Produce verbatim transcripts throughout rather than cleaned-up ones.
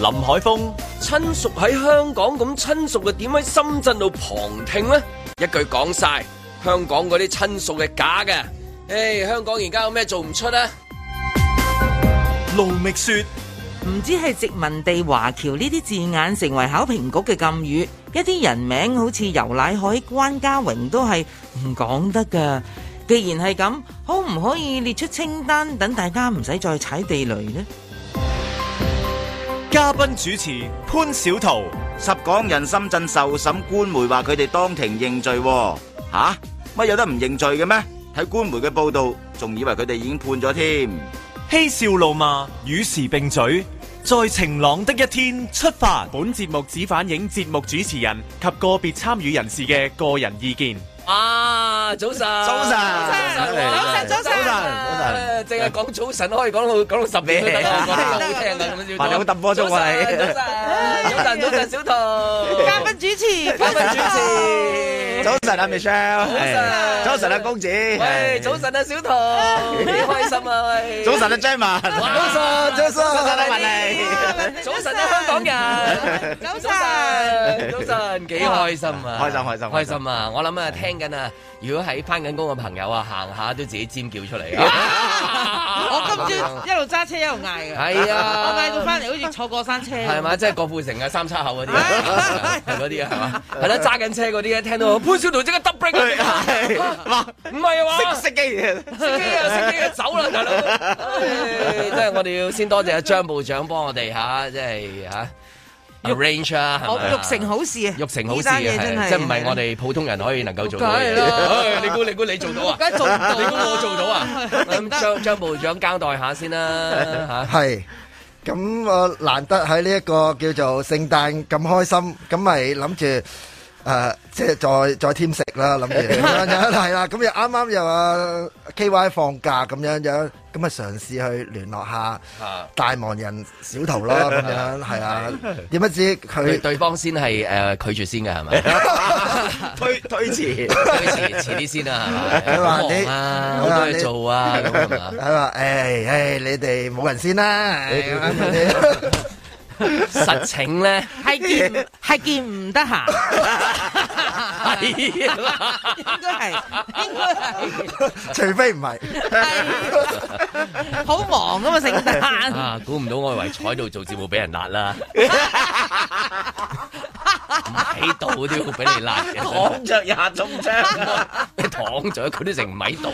林海峰，親屬喺香港咁，親屬嘅點喺深圳度旁聽呢？一句講晒，香港嗰啲親屬係假嘅。誒，香港而家有咩做唔出啊？ 盧覓雪， 唔知係殖民地華僑呢啲字眼成為考評局嘅禁語，一啲人名好似游乃海、關家榮都係唔講得噶。既然係咁，可唔可以列出清單，等大家唔使再踩地雷呢？ 嘉賓主持潘小桃， 十港人深圳受審，官媒話佢哋當庭認罪。吓，乜有得唔認罪嘅咩？睇官媒嘅報道，仲以為佢哋已經判咗添。 嬉笑怒罵，與時並舉，在晴朗的一天出發。本節目只反映節目主持人及個別參與人士嘅個人意見。 啊，早晨，早晨，早晨，早晨，早晨，早晨，淨係講早晨可以講到講到十點都得，講得好聽噶咁樣。 你好揼波鐘啊你！ 早晨，早晨，小桃， 嘉賓主持， 嘉賓主持， 早晨啊 Michelle， 早晨啊公子， 喂，早晨啊小桃，幾開心啊喂！ 早晨啊 Jammy， 早晨，早晨，早晨啊文妮， 早晨啊香港人，早晨，早晨，幾開心啊！ 開心，開心， 開心啊！我諗啊聽。緊啊！如果喺返緊工嘅朋友啊，行下都自己尖叫出嚟啊！ 我今朝一路揸車一路嗌嘅， 係啊！ 我嗌到返嚟好似坐過山車， 係嘛？即係郭富城啊、三叉口嗰啲，係嗰啲啊，係嘛？係啦，揸緊車嗰啲咧，聽到潘小桃即刻 double break 啊！唔係啊嘛， 熄機啊！ 熄機啊！熄機啊！走啦，大佬！即係我哋要先多謝阿張部長幫我哋嚇，即係嚇。arrange 啊，係咪？ 欲成好事啊！ 欲成好事啊，係即係唔係我哋普通人可以能夠做到嘅嘢。你估你估你做到啊？ 梗係做唔到， 你估我做到啊？咁張張部長交代下先啦嚇。 係咁，我難得喺呢一個叫做聖誕咁開心，咁咪諗住誒，即係再再添食啦，諗住係啦。咁又啱啱又話 K Y 放假咁樣樣。咁啊，嘗試去聯絡下大忙人小桃咯，咁樣係啊？點不知佢對方先係誒拒絕先嘅係咪？推推遲，推遲遲啲先啊，係咪？佢話你啊，好多嘢做啊，咁係嘛？ 佢話誒誒，你哋冇人先啦。 實情咧係見係見唔得閒，係應該係應該係， 除非唔係， 好忙噶嘛聖誕啊！估唔到我以為坐喺度做節目俾人辣啦，唔喺度都要俾你辣嘅，躺着也中槍，你躺着佢都成唔喺度，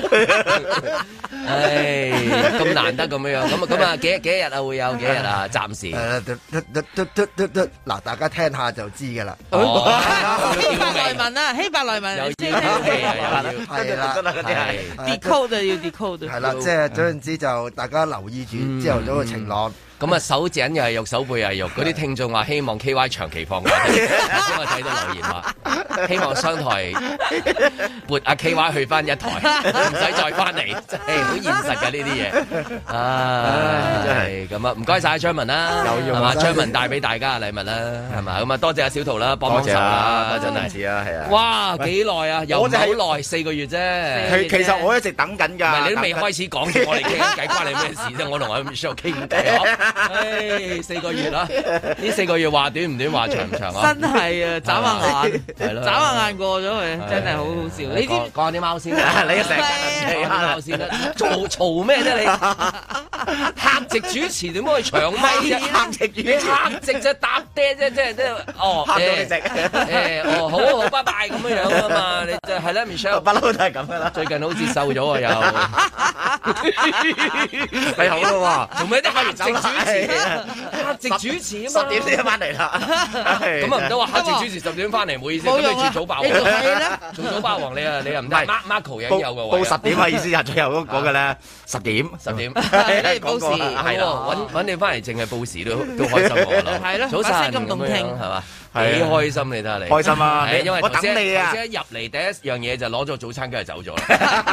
唉，咁難得咁樣樣，咁啊咁啊幾幾日啊會有幾日啊？暫時。 嗱，大家聽下就知噶啦。 希伯來文啊，希伯來文有啲係係啦， 係 decode 要 decode。 係啦，即係總言之就大家留意住朝頭早嘅晴朗。 咁啊，手井又係肉，手背又係肉。嗰啲聽眾話希望 K Y 長期放假，因為睇到留言話希望商台撥阿 K Y 去翻一台，唔使再翻嚟，真係好現實嘅呢啲嘢。啊，真係咁啊！唔該晒張文啦，係嘛？張文帶俾大家嘅禮物啦，係嘛？咁啊，多謝阿小桃啦，幫幫手啦，真係。 係啊，係啊。 哇，幾耐啊？又唔係好耐，四個月啫。 其其實我一直等緊㗎。 唔係你都未開始講，我哋傾緊偈，關你咩事啫？我同阿 Michelle 傾偈。唉，四個月啦，呢四個月話短唔短，話長唔長啊？ 真係啊，眨下眼，係咯，眨下眼過咗佢，真係好好笑。你知講下啲貓先啦，你成日講貓先啦，嘈嘈咩啫你？客席主持點可以長咪啫？客席主持，客席就搭爹啫，即係即係哦，客到你食誒，哦好好拜拜咁樣樣啊嘛，你就係啦 Michelle 不嬲都係咁噶啦，最近好似瘦咗啊又，係好咯喎，做咩啲客席主持？客席主持啊嘛，十點先翻嚟啦，咁啊唔得話客席主持十點翻嚟，唔好意思，咁你住早霸王，做早霸王你啊你啊唔得，Marco 已經有嘅喎， 報十點嘅意思係最後嗰嗰個咧，十點十點， 報時係啦，揾揾你翻嚟淨係報時都都開心我啦， 係咯， 早晨咁動聽係嘛？幾開心你睇下你， 開心啊！ 因為我等你啊！ 一入嚟第一樣嘢就攞咗早餐，跟住走咗啦。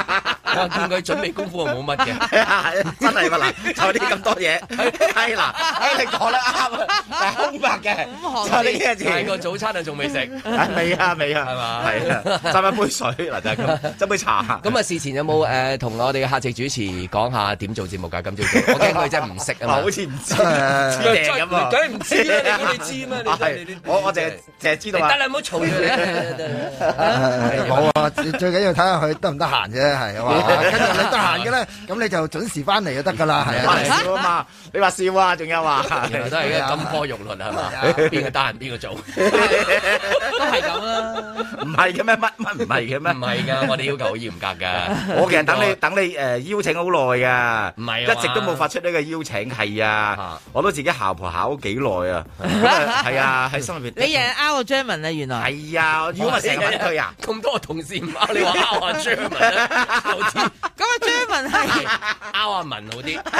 我見佢準備功夫冇乜嘅， 真係嘛嗱，就呢咁多嘢，係嗱，你講得啱啊，係空白嘅，就呢幾個字。 但係個早餐啊仲未食， 未啊未啊，係嘛？係啊，斟一杯水嗱就係咁，斟杯茶。 咁啊事前有冇誒同我哋嘅客席主持講下點做節目㗎？今朝早我驚佢真係唔識啊嘛， 好似唔知知咁啊， 梗係唔知啦，你估你知咩？你我我淨係淨係知道啊， 得啦，唔好嘈住你。 冇啊，最緊要睇下佢得唔得閒啫，係嘛？跟住你得閒嘅咧，咁你就準時翻嚟就得㗎啦，係啊。 笑啊嘛，你話笑啊，仲有話， 原來都係一個金科玉律係嘛？邊個得閒邊個做，都係咁啦。 唔係嘅咩？乜乜唔係嘅咩？ 唔係㗎，我哋要求好嚴格㗎。 我其實等你等你誒邀請好耐㗎， 唔係一直都冇發出呢個邀請，係啊，我都自己姣婆考幾耐啊，係啊，喺心入邊。 你日日拗個 Jerman 啊，原來係啊，如果咪成日揾佢啊， 咁多同事唔拗，你話拗下 Jerman 好啲。 咁啊 Jerman 係拗阿文好啲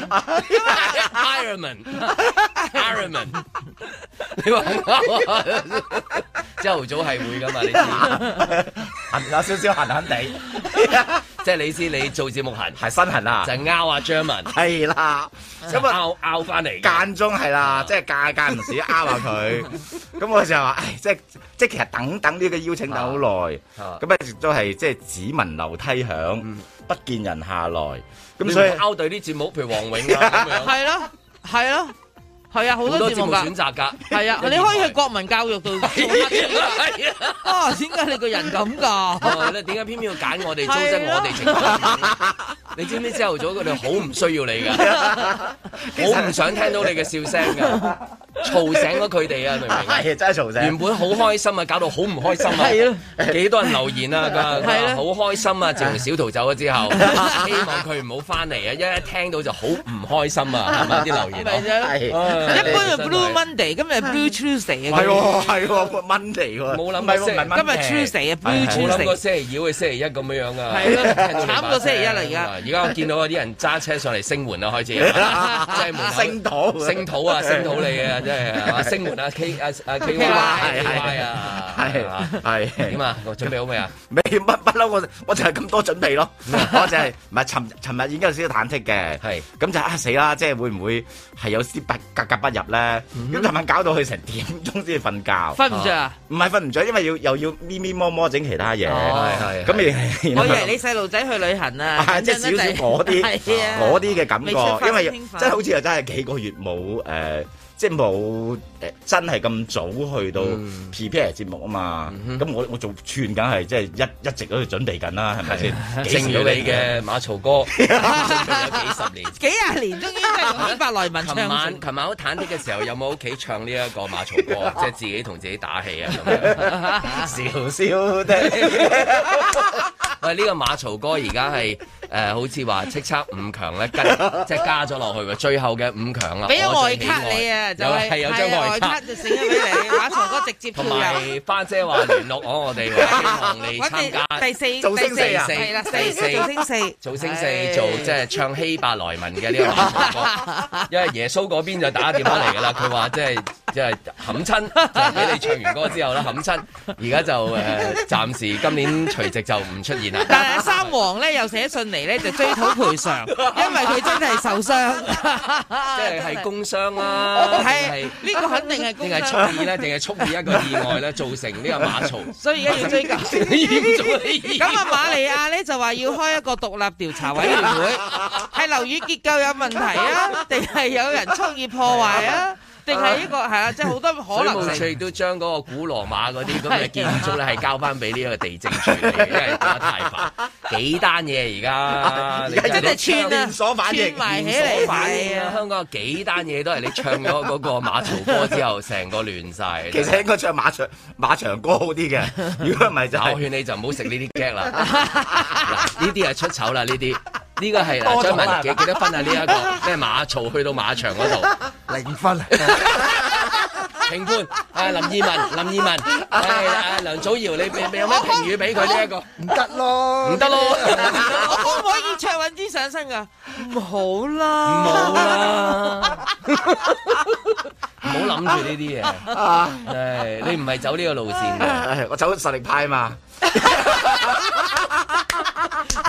，Ironman，Ironman，Ironman，你話拗啊？朝頭早係會㗎嘛？你知， 痕有少少痕痕地， 即係你知你做節目痕係身痕啊， 就係拗阿 Jerman， 係啦，咁啊拗拗翻嚟， 間中係啦，即係間間唔時拗下佢，咁我就話，唉，即係即係其實等等呢個邀請等好耐，咁一直都係即係只聞樓梯響，不見人下來，咁所以拗對啲節目，譬如黃永啊咁樣， 係咯係咯。係啊，好多節目選擇㗎。 係啊，你可以去國民教育度做乜啊？點解你個人咁㗎？ 你點解偏偏要揀我哋糟質我哋情況？你知唔知朝頭早佢哋好唔需要你㗎，好唔想聽到你嘅笑聲㗎，嘈醒咗佢哋啊！明唔明？ 係真係嘈醒。原本好開心啊，搞到好唔開心啊！ 係啊， 幾多人留言啊？佢好開心啊！自從小桃走咗之後，希望佢唔好翻嚟啊！一一聽到就好唔開心啊！係咪啲留言？ 係。一般係 Blue Monday，今日 Blue Tuesday 啊！係喎係喎 Monday 喎， 冇諗過今日 Tuesday 啊 Blue Tuesday，冇諗過星期二會星期一咁樣樣啊！ 係咯，慘過星期一啦而家。 而家我見到有啲人揸車上嚟聲援啊，開始即係門口聲討聲討啊，聲討你啊，真係啊聲援啊 K 啊啊 K Y Y 啊， 係係點啊？我準備好未啊？ 未乜不嬲，我我就係咁多準備咯。我就係唔係尋尋日已經有少少忐忑嘅，係咁就啊死啦！即係會唔會係有啲格格不入咧？咁尋晚搞到佢成點鐘先至瞓覺， 瞓唔着啊？ 唔係瞓唔着，因為要又要咪咪摸摸整其他嘢，係係。咁你我以為你細路仔去旅行啊， 即係少少嗰啲嗰啲嘅感覺，因為真係好似又真係幾個月冇誒。即係冇誒，真係咁早去到 prepare 節目啊嘛，咁、嗯、我我做串梗係即係一一直都喺度準備緊啦，係咪先？ 正如你嘅馬槽哥，準備咗幾十年、 幾廿年，終於真係用百來文唱。 琴晚琴晚好忐忑嘅時候，有冇屋企唱呢一個馬槽歌？即係自己同自己打氣啊咁樣， 笑笑的。 喂，呢個馬槽歌而家係誒，好似話叱咤五強咧，跟即係加咗落去喎，最後嘅五強啦。 俾咗外卡你啊！就係有張外卡就醒咗俾你，馬槽哥直接同埋花姐話聯絡我，我哋希望你參加第四造星四啊， 係啦，第四造星四， 造星四做即係唱希伯來文嘅呢個馬槽歌，因為耶穌嗰邊就打電話嚟㗎啦，佢話即係即係冚親，就係俾你唱完歌之後啦，冚親，而家就誒暫時今年除夕就唔出現啦。 但係三王咧又寫信嚟咧就追討賠償，因為佢真係受傷， 即係係工傷啦。 係呢個肯定係定係蓄意咧，定係蓄意一個意外咧，造成呢個馬槽。 所以而家要追究。咁啊，瑪利亞咧就話要開一個獨立調查委員會，係樓宇結構有問題啊，定係有人蓄意破壞啊？定係呢個係啊，即係好多可能性。 水務署都將嗰個古羅馬嗰啲咁嘅建築咧，係交翻俾呢個地政處理，因為打得太煩。幾單嘢而家，而家真係串啊， 連鎖反應埋起嚟。 係啊，香港有幾單嘢都係你唱咗嗰個馬槽歌之後，成個亂晒。 其實應該唱馬場馬場歌好啲嘅，如果唔係就我勸你就唔好食呢啲 gag 啦。嗱，呢啲係出醜啦，呢啲。呢個係嗱，張文幾幾多分啊？呢一個咩馬槽去到馬場嗰度零分。 評判啊，林二汶，林二汶，係啊，梁祖堯，你你有咩評語俾佢呢一個？ 唔得咯， 唔得咯， 我可唔可以卓韻芝上身㗎？唔好啦， 唔好啦，唔好諗住呢啲嘢。唉，你唔係走呢個路線嘅， 我走實力派嘛。 係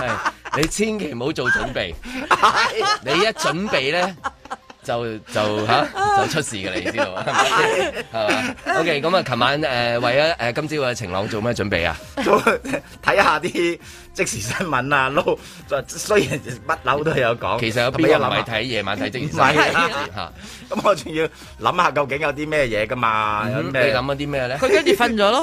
你千祈唔好做準備，你一準備咧。就就嚇、啊、就出事嘅你知道係咪？係嘛？OK，咁啊，琴晚誒、呃、為咗誒、呃、今朝嘅晴朗做咩準備啊？ 睇下啲即時新聞啊，撈雖然乜樓都有講， 其實有邊個唔係睇夜晚睇即時新聞嚇？咁我仲要諗下究竟有啲咩嘢㗎嘛？ 嗯、你諗咗啲咩咧？ 佢跟住瞓咗咯。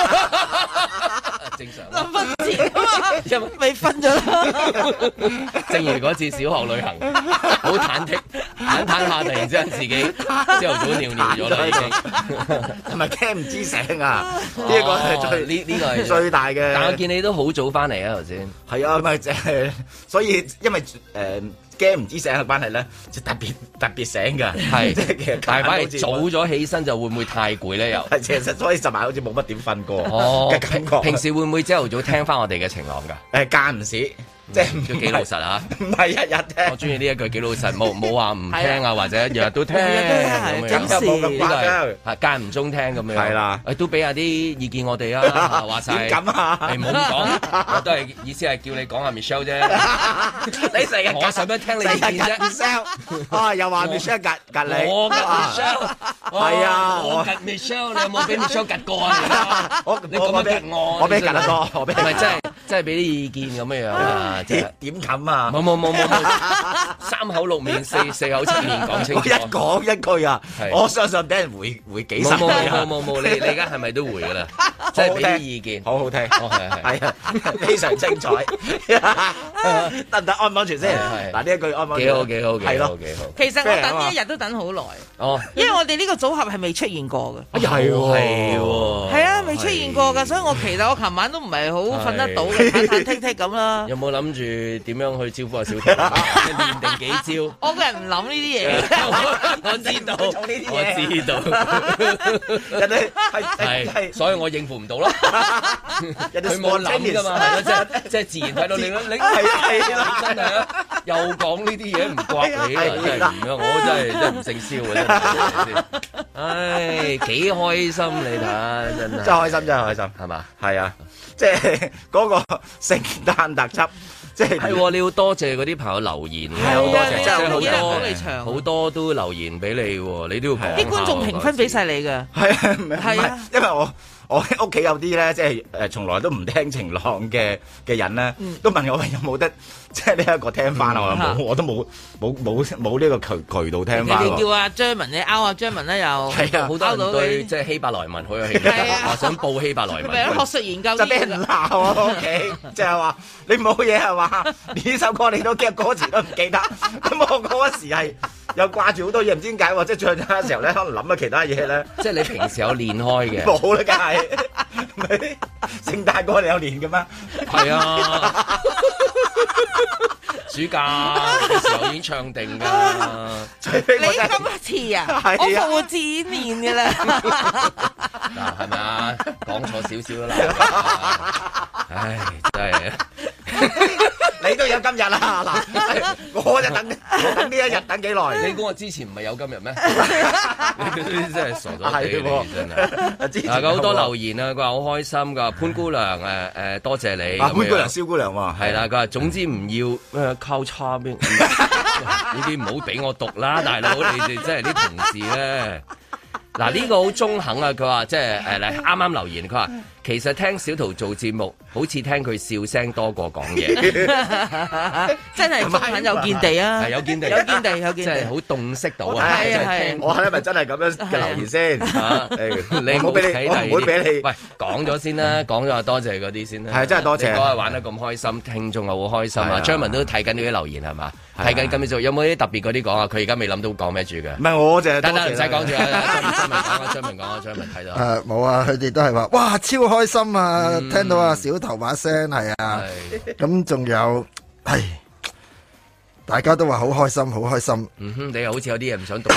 正常臨瞓前啊嘛，因為未瞓咗啦。 正如嗰次小學旅行，好忐忑，忐忑下突然之間自己朝頭早尿尿咗啦已經， 同埋驚唔知醒啊！呢一個係最呢呢個係最大嘅。 但我見你都好早翻嚟啊頭先。 係啊，咪即係，所以因為誒。驚唔知醒嘅關係咧，就特別特別醒㗎， 係即係其實但係反而早咗起身就會唔會太攰咧？又係其實所以尋晚好似冇乜點瞓過哦嘅感覺。 平時會唔會朝頭早聽翻我哋嘅晴朗㗎？ 誒間唔時。即係都幾老實啊！ 唔係日日聽， 我中意呢一句幾老實，冇冇話唔聽啊，或者日日都聽咁樣。 冇咁誇張， 係間唔中聽咁樣。 係啦， 誒都俾下啲意見我哋啊！話晒點咁啊？ 誒唔好咁講，我都係意思係叫你講下 Michelle 啫。 你成日我使乜聽你意見啫 ？Michelle 啊，又話 Michelle 隔隔你， 我隔 Michelle， 係啊， 我隔 Michelle，你有冇俾 Michelle 隔過啊？ 我你咁樣隔我， 我俾隔得多，我俾唔係真係真係俾啲意見咁樣樣啊！ 點點咁？冇冇冇冇冇，三口六面四四口七面講清楚。 一講一句啊，我相信俾人回回幾十。 冇冇冇冇冇，你你而家係咪都回噶啦？即係俾啲意見， 好好聽。 哦係係係啊，非常精彩。得唔得？安唔安全先？嗱呢一句安唔安全？ 幾好幾好幾好幾好。 其實我等呢一日都等好耐。哦，因為我哋呢個組合係未出現過嘅。 係喎係喎。係啊，未出現過㗎，所以我其實我琴晚都唔係好瞓得到嘅，忐忐忑忑咁啦。 有冇諗住點樣去招呼阿小婷？練定幾招？ 我個人唔諗呢啲嘢。 我知道，我知道。人哋係係，所以我應付唔到咯。佢冇諗噶嘛，係咯，即係即係自然睇到你咯。你係係啦，真係啊！又講呢啲嘢唔怪你啊，真係唔樣，我真係真係唔姓蕭啊，真係。唉，幾開心你睇，真係。 真係開心，真係開心，係嘛？係啊，即係嗰個聖誕特輯。即係係你要多謝嗰啲朋友留言， 係好多謝， 即係好多好多都留言俾你，你都要講。 啲觀眾評分俾晒你㗎， 係啊，係啊，因為我我屋企有啲咧，即係誒從來都唔聽晴朗嘅嘅人咧，都問我有冇得即係呢一個聽翻啊？我冇，我都冇冇冇冇呢個渠渠道聽翻。 你哋叫阿張文，你拗阿張文咧又係啊， 好多人對即係希伯來文好有興趣，話想報希伯來文。 學術研究就俾人鬧啊！屋企即係話你冇嘢係嘛？呢首歌你都記歌詞都唔記得，咁我嗰時係又掛住好多嘢，唔知點解喎，即係唱緊嘅時候咧，可能諗咗其他嘢咧。即係你平時有練開嘅？冇啦，梗係。聖誕歌你有練嘅咩？係啊，暑假嘅時候已經唱定㗎。 你今次啊，我復活節練嘅啦。 嗱，係咪啊？講錯少少啦。唉，真係。 你都有今日啦，嗱，我就等，我等呢一日等幾耐？ 你估我之前唔係有今日咩？你真係傻咗地，真係。嗱，好多留言啊，佢話好開心，佢話潘姑娘誒誒多謝你。 潘姑娘、蕭姑娘喎， 係啦，佢話總之唔要咩交叉邊，呢啲唔好俾我讀啦，大佬，你哋真係啲同事咧。嗱，呢個好中肯啊！佢話即係誒嚟啱啱留言，佢話其實聽小桃做節目，好似聽佢笑聲多過講嘢， 真係中肯有見地啊！ 係有見地， 有見地，有見地， 即係好洞悉到啊！ 係啊係， 我係咪真係咁樣嘅留言先？ 你唔好俾你，我唔會俾你。 喂，講咗先啦，講咗多謝嗰啲先啦。 係真係多謝， 你嗰日玩得咁開心，聽眾又好開心啊！張文都睇緊呢啲留言係嘛？睇緊今日做有冇啲特別嗰啲講啊？佢而家未諗到講咩住嘅。 唔係我就係得得唔使講住啊！張文講啊，張文講啊，張文睇到。 誒冇啊！佢哋都係話哇超開心啊！聽到啊小頭把聲係啊，咁仲有係大家都話好開心，好開心。 嗯哼，你又好似有啲嘢唔想讀。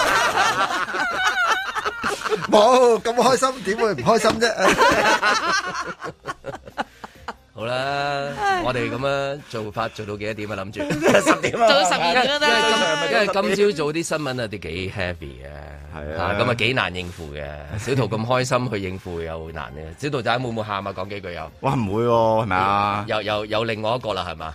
冇咁開心，點會唔開心啫？ 好啦，我哋咁樣做法做到幾多點啊？諗住十點啊， 做到十二點都得。 因為今朝早啲新聞啊，啲幾 heavy 嘅，係啊，咁啊幾難應付嘅。小桃咁開心去應付又難嘅。小桃仔會唔會喊啊？講幾句又？ 哇，唔會喎，係咪啊？ 又又有另外一個啦，係嘛？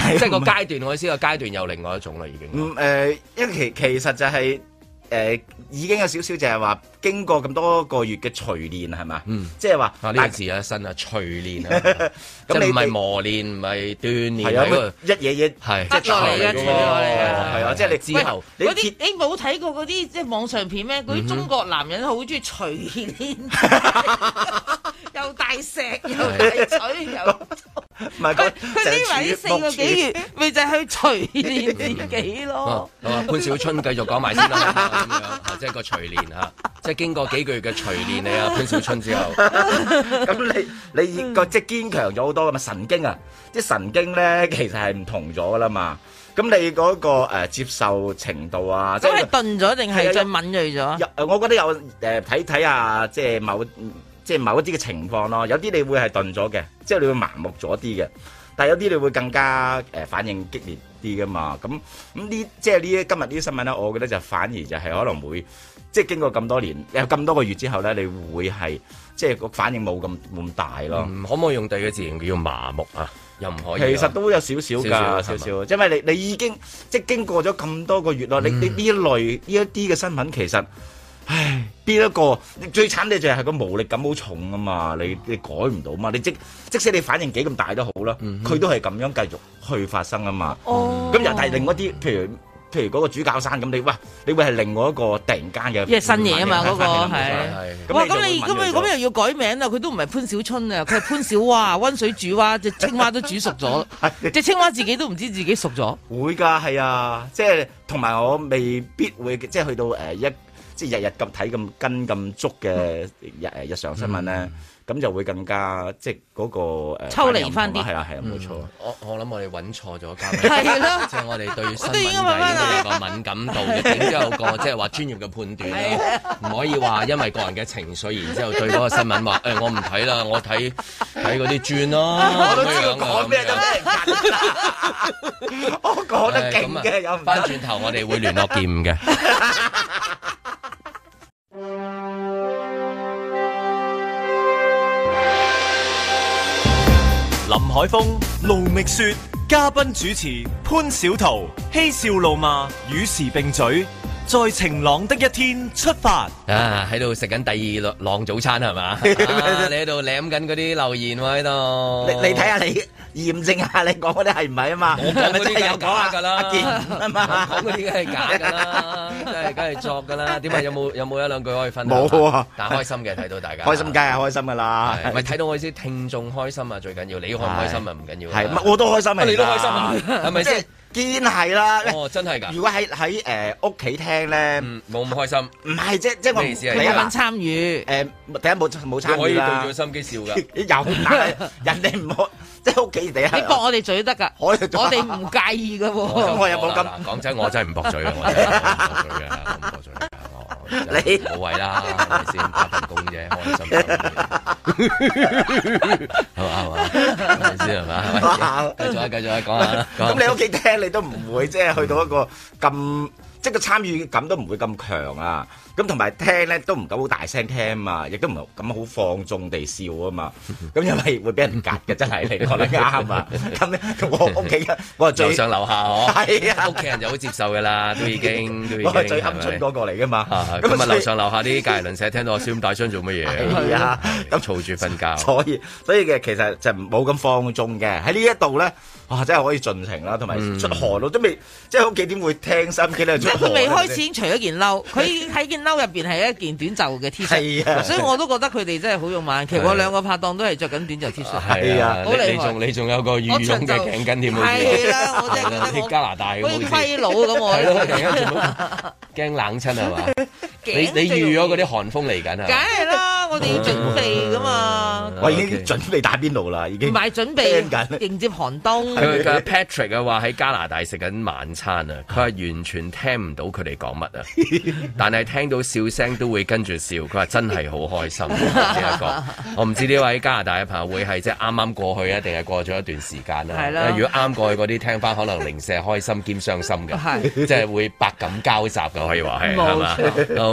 即係個階段，我意思個階段有另外一種啦，已經。 嗯誒，因為其其實就係。誒已經有少少就係話經過咁多個月嘅錘煉係嘛？嗯，即係話啊呢個字啊新啊錘煉啊，即係唔係磨練，唔係鍛鍊，係啊一嘢嘢係得落嚟嘅錘落嚟啊！ 係啊，即係你之後嗰啲你冇睇過嗰啲即係網上片咩？嗰啲中國男人好中意錘煉，又大石又大錘又。 唔係佢佢呢埋呢四個幾月，咪就係去錘煉自己咯。 潘小春繼續講埋先啦。咁樣，即係個錘煉嚇，即係經過幾個月嘅錘煉你啊潘小春之後， 咁你你個即係堅強咗好多噶嘛神經啊，啲神經咧其實係唔同咗噶啦嘛，咁你嗰個誒接受程度啊， 即係鈍咗定係再敏鋭咗？ 有我覺得有誒睇睇下即係某即係某一啲嘅情況咯，有啲你會係鈍咗嘅，即係你會麻木咗啲嘅。但係有啲你會更加誒反應激烈啲噶嘛，咁咁呢即係呢今日呢啲新聞咧，我覺得就反而就係可能會即係經過咁多年有咁多個月之後咧，你會係即係個反應冇咁咁大咯、 嗯。可唔可以用第二個字形容叫麻木啊？又唔可以。 其實都有少少㗎，少少，因為你你已經即係經過咗咁多個月咯、嗯，你你呢一類呢一啲嘅新聞其實。唉，邊一個最慘嘅就係個無力感好重啊嘛，你你改唔到嘛，你即即使你反應幾咁大都好啦，佢、嗯、都係咁樣繼續去發生啊嘛。哦，咁又係另外一啲，譬如譬如嗰個主教山咁，你哇，你會係另外一個突然間嘅， 即係新嘢啊嘛，嗰、那個係。哇，咁你咁你咁又要改名啦？佢都唔係潘小春啊，佢係潘小蛙，溫水煮蛙，隻青蛙都煮熟咗，隻青蛙自己都唔知自己熟咗。 會㗎，係啊，即係同埋我未必會即係去到誒、呃、一。即係日日咁睇咁跟咁足嘅日誒日常新聞咧，咁、嗯、就會更加即係嗰個誒抽離翻啲， 係啊係啊冇錯。 我我諗我哋揾錯咗嘉賓，係咯，即係我哋對新聞界應該有個敏感度嘅，然之後個即係話專業嘅判斷啦，唔可以話因為個人嘅情緒，然之後對嗰個新聞話誒我唔睇啦，我睇睇嗰啲轉咯。 我都知道講咩都俾人夾，我講得勁嘅有。 翻轉頭我哋會聯絡劍嘅。 林海峰、盧覓雪，嘉賓主持潘小桃，嬉笑怒罵，與時並舉，在晴朗的一天出發。 啊，喺度食緊第二浪早餐係嘛、啊？你喺度舐緊嗰啲留言喎喺度。 你你睇下你驗證下你講嗰啲係唔係啊嘛？ 我講嗰啲有假㗎啦， 阿健啊嘛， 講嗰啲梗係假㗎啦，真係梗係作㗎啦。點解有冇有冇一兩句可以分享？ 冇啊， 但係開心嘅睇到大家。 開心梗係開心㗎啦。 咪睇到我意思，聽眾開心啊最緊要，你開唔開心啊唔緊要。 係，我都開心啊， 你都開心啊，係咪先？ 堅係啦， 哦，真係㗎！ 如果喺喺誒屋企聽咧， 冇咁開心。唔係即即我咩意思啊？ 你有份參與誒，第一冇冇參與啦。 可以對住個心機笑㗎。 有，但係人哋唔好即屋企地下。 你駁我哋嘴得㗎，我哋唔介意㗎喎。 咁我又冇咁講真，我真係唔駁嘴嘅，我真係唔駁嘴嘅，唔駁嘴嘅。你冇謂啦，係咪先打份工啫，開心啲，係嘛係嘛，係咪先係嘛？繼續啊，繼續啊，講下啦。 咁你屋企聽你都唔會即係去到一個咁，即係個參與感都唔會咁強啊。咁同埋聽咧都唔敢好大聲聽啊嘛，亦都唔敢好放縱地笑啊嘛。咁因為會俾人夾嘅，真係你講得啱啊。咁我屋企我係最樓上樓下嗬， 係啊， 屋企人就好接受噶啦，都已經都已經。 我係最鵪鶉嗰個嚟噶嘛。 咁啊，樓上樓下啲隔離鄰舍聽到我笑咁大聲做乜嘢？ 係啊， 咁嘈住瞓覺。 所以所以嘅其實就冇咁放縱嘅喺呢一度咧。哇！真係可以盡情啦，同埋出汗咯，都未即係屋企點會聽心機咧？出汗。 佢未開始已經除咗件褸，佢喺件褸入邊係一件短袖嘅 T 恤， 啊、 所以我都覺得佢哋真係好勇猛。其實我兩個拍檔都係着緊短袖 T 恤， 係啊，好厲害。你仲你仲有個羽絨嘅頸巾添， 係啦，我真係覺得加拿大好似虧佬咁我。 係咯，突然間做乜驚冷親係嘛？你你預咗嗰啲寒風嚟緊啊？ 梗係啦，我哋要準備噶嘛。 我已經準備打邊爐啦，已經。 唔係準備迎接寒冬。 佢嘅 Patrick 嘅話喺加拿大食緊晚餐啊，佢話完全聽唔到佢哋講乜啊，但係聽到笑聲都會跟住笑。佢話真係好開心呢一個。我唔知呢位加拿大嘅朋友會係即係啱啱過去啊，定係過咗一段時間啦。係啦。如果啱過去嗰啲聽翻，可能零舍開心兼傷心嘅，即係會百感交集嘅可以話係，係嘛？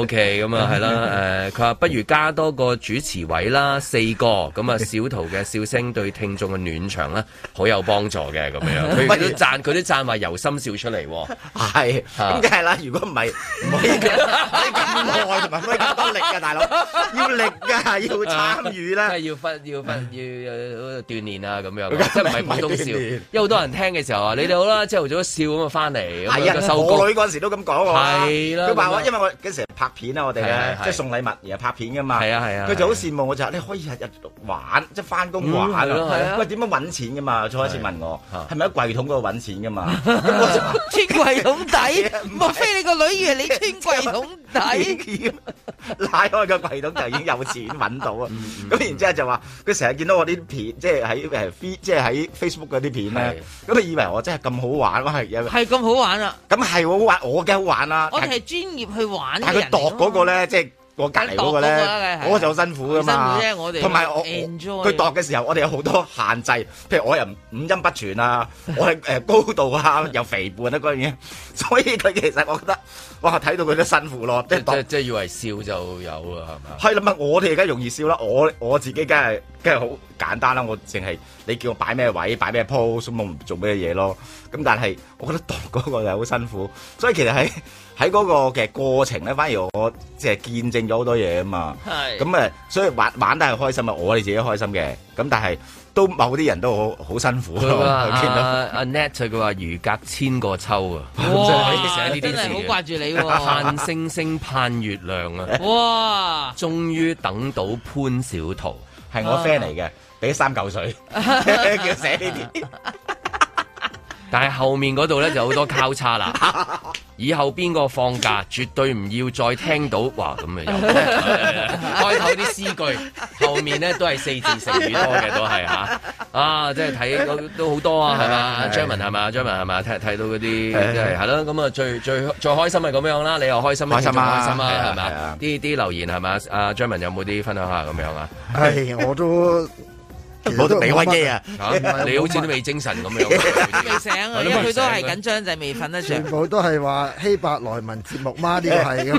OK， 咁啊係啦，誒，佢話不如加多個主持位啦，四個，咁啊小圖嘅笑聲對聽眾嘅暖場咧，好有幫助嘅咁樣。佢都讚，佢都讚話由心笑出嚟。 係，咁梗係啦。如果唔係，唔可以咁耐，同埋唔可以咁多力㗎，大佬。要力㗎，要參與啦。 要分，要分，要鍛鍊啊咁樣，即係唔係普通笑。因為好多人聽嘅時候啊，你哋好啦，朝頭早笑咁啊翻嚟，咁啊收工。我女嗰陣時都咁講喎。係啦。佢話我，因為我嗰時拍片啊，我哋咧即係送禮物而係拍片㗎嘛。係啊係啊。佢就好羨慕我就話你可以日日玩，即係翻工玩啊。係啊。喂，點樣揾錢㗎嘛？初一次問我係咪喺櫃桶嗰度揾錢㗎嘛？咁我就話穿櫃桶底，莫非你個女以為你穿櫃桶底？ 拉開個櫃桶就已經有錢揾到啊！咁然之後就話佢成日見到我啲片，即係喺誒即係喺 Facebook 嗰啲片咧，咁佢以為我真係咁好玩，我係係咁好玩啊！ 咁係好玩，我梗係好玩啦！ 我哋係專業去玩嘅人。 但係佢度嗰個咧，即係。我隔離嗰個咧，我就好辛苦噶嘛。 辛苦啫，我哋同埋我佢度嘅時候，我哋有好多限制，譬如我又五音不全啊，我係誒高度啊，又肥胖啊嗰樣嘢，所以佢其實我覺得，哇睇到佢都辛苦咯。即係即係以為笑就有啊，係嘛？ 係啦，咪我哋而家容易笑啦，我我自己梗係梗係好簡單啦，我淨係你叫我擺咩位，擺咩 pose，咁我唔做咩嘢咯。咁但係我覺得度嗰個又好辛苦，所以其實喺喺嗰個嘅過程咧，反而我即係見證咗好多嘢啊嘛。係咁誒，所以玩玩得係開心啊，我哋自己開心嘅。咁但係都某啲人都好好辛苦咯。 阿阿 Net 佢話如隔千個秋啊，哇！寫呢啲字真係好掛住你喎。 盼星星盼月亮啊！ 哇！ 終於等到潘小桃， 係我 friend 嚟嘅，俾三嚿水叫寫呢啲。 但係後面嗰度咧就好多交叉啦，以後邊個放假絕對唔要再聽到哇咁嘅又開頭啲詩句，後面咧都係四字成語多嘅都係嚇，啊即係睇都都好多啊係嘛？張文係嘛？張文係嘛？睇睇到嗰啲即係係咯，咁啊最最最開心係咁樣啦，你又開心，開心啊開心啊係嘛？啲啲留言係嘛？阿張文有冇啲分享下咁樣啊？ 係我都。 我都未開機啊！ 你好似都未精神咁樣， 未醒啊！因為佢都係緊張，就係未瞓得着。 全部都係話希伯來文節目嗎？呢個係咁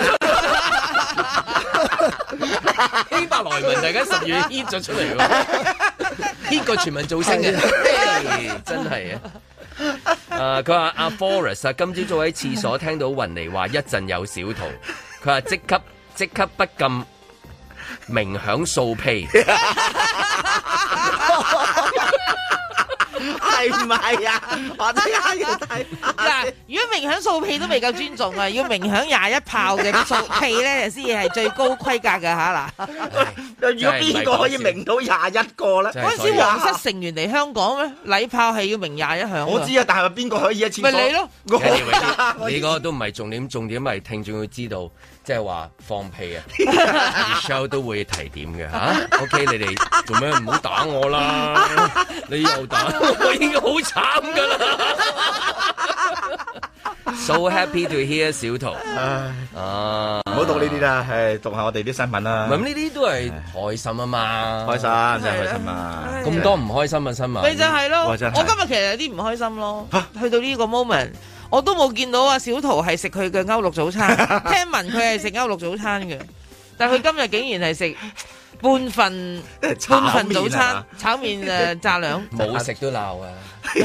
樣。希伯來文大家十月 hit 咗出嚟喎，hit 個全民造星嘅，真係啊！誒，佢話阿 Forrest 啊，今朝早喺廁所聽到雲妮話一陣有小圖，佢話即刻即刻不禁鳴響掃屁。 係唔係啊？我真係要睇嗱，如果鳴響掃屁都未夠尊重啊，要鳴響廿一炮嘅掃屁咧，先至係最高規格嘅吓嗱。 如果邊個可以鳴到廿一個咧？ 嗰陣時皇室成員嚟香港咩？禮炮係要鳴廿一響。 我知啊，但係邊個可以一次？ 咪你咯， 你嗰個都唔係重點，重點係聽眾要知道。即係話放屁啊 ，Michelle 都會提點嘅嚇。OK，你哋做咩唔好打我啦？你又打我，我已經好慘噶啦。So happy to hear 小桃。啊， 唔好讀呢啲啦，係讀下我哋啲新聞啦。 咁呢啲都係開心啊嘛， 開心真係開心啊！ 咁多唔開心嘅新聞， 咪就係咯。我今日其實有啲唔開心咯。去到呢個 moment。我都冇見到啊！小桃係食佢嘅歐陸早餐，聽聞佢係食歐陸早餐嘅，但係佢今日竟然係食半份半份早餐炒麵誒炸兩， 冇食都鬧啊！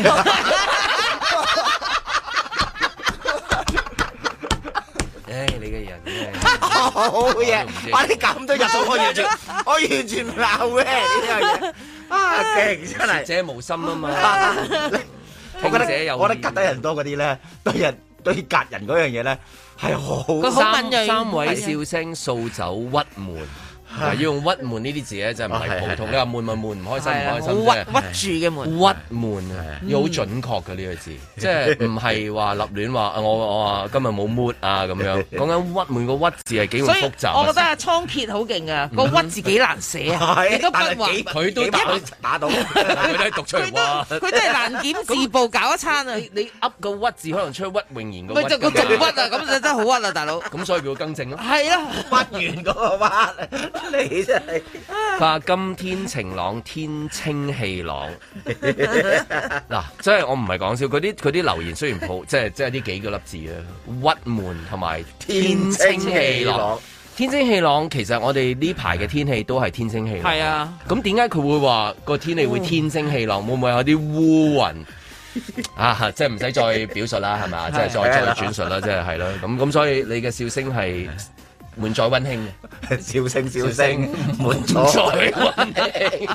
唉，你嘅人真係好嘢！哇，你咁多日數，我完全我完全唔鬧嘅呢樣嘢啊！勁真係， 者無心啊嘛！ 我覺得我覺得隔底人多嗰啲咧，對人對隔人嗰樣嘢咧係好。 佢好敏鋭。 三位笑聲掃走鬱悶。要用鬱悶呢啲字咧，真係唔係普通。你話悶咪悶，唔開心唔開心啫。屈屈住嘅悶， 鬱悶啊，要好準確嘅呢個字，即係唔係話立亂話我我話今日冇 mood 啊咁樣。講緊鬱悶個屈字係幾咁複雜。 我覺得阿倉頡好勁啊，個屈字幾難寫啊，你都不話佢都打到，佢都係讀出嚟話， 佢都係難檢字報搞一餐啊！ 你噏個屈字可能出屈穎妍個屈。 咪就個仲屈啊！咁就真係好屈啊，大佬。 咁所以叫更正咯。 係啊， 屈完嗰個屈。 你真係佢話今天晴朗，天清氣朗。嗱，即係我唔係講笑，嗰啲嗰啲留言雖然好，即係即係呢幾個粒字啊，鬱悶同埋天清氣朗。天清氣朗，其實我哋呢排嘅天氣都係天清氣朗。係啊，咁點解佢會話個天氣會天清氣朗？會唔會有啲烏雲啊？即係唔使再表述啦，係咪？即係再再轉述啦，即係係咯。咁咁，所以你嘅笑聲係滿載溫馨嘅， 笑聲笑聲滿載溫馨，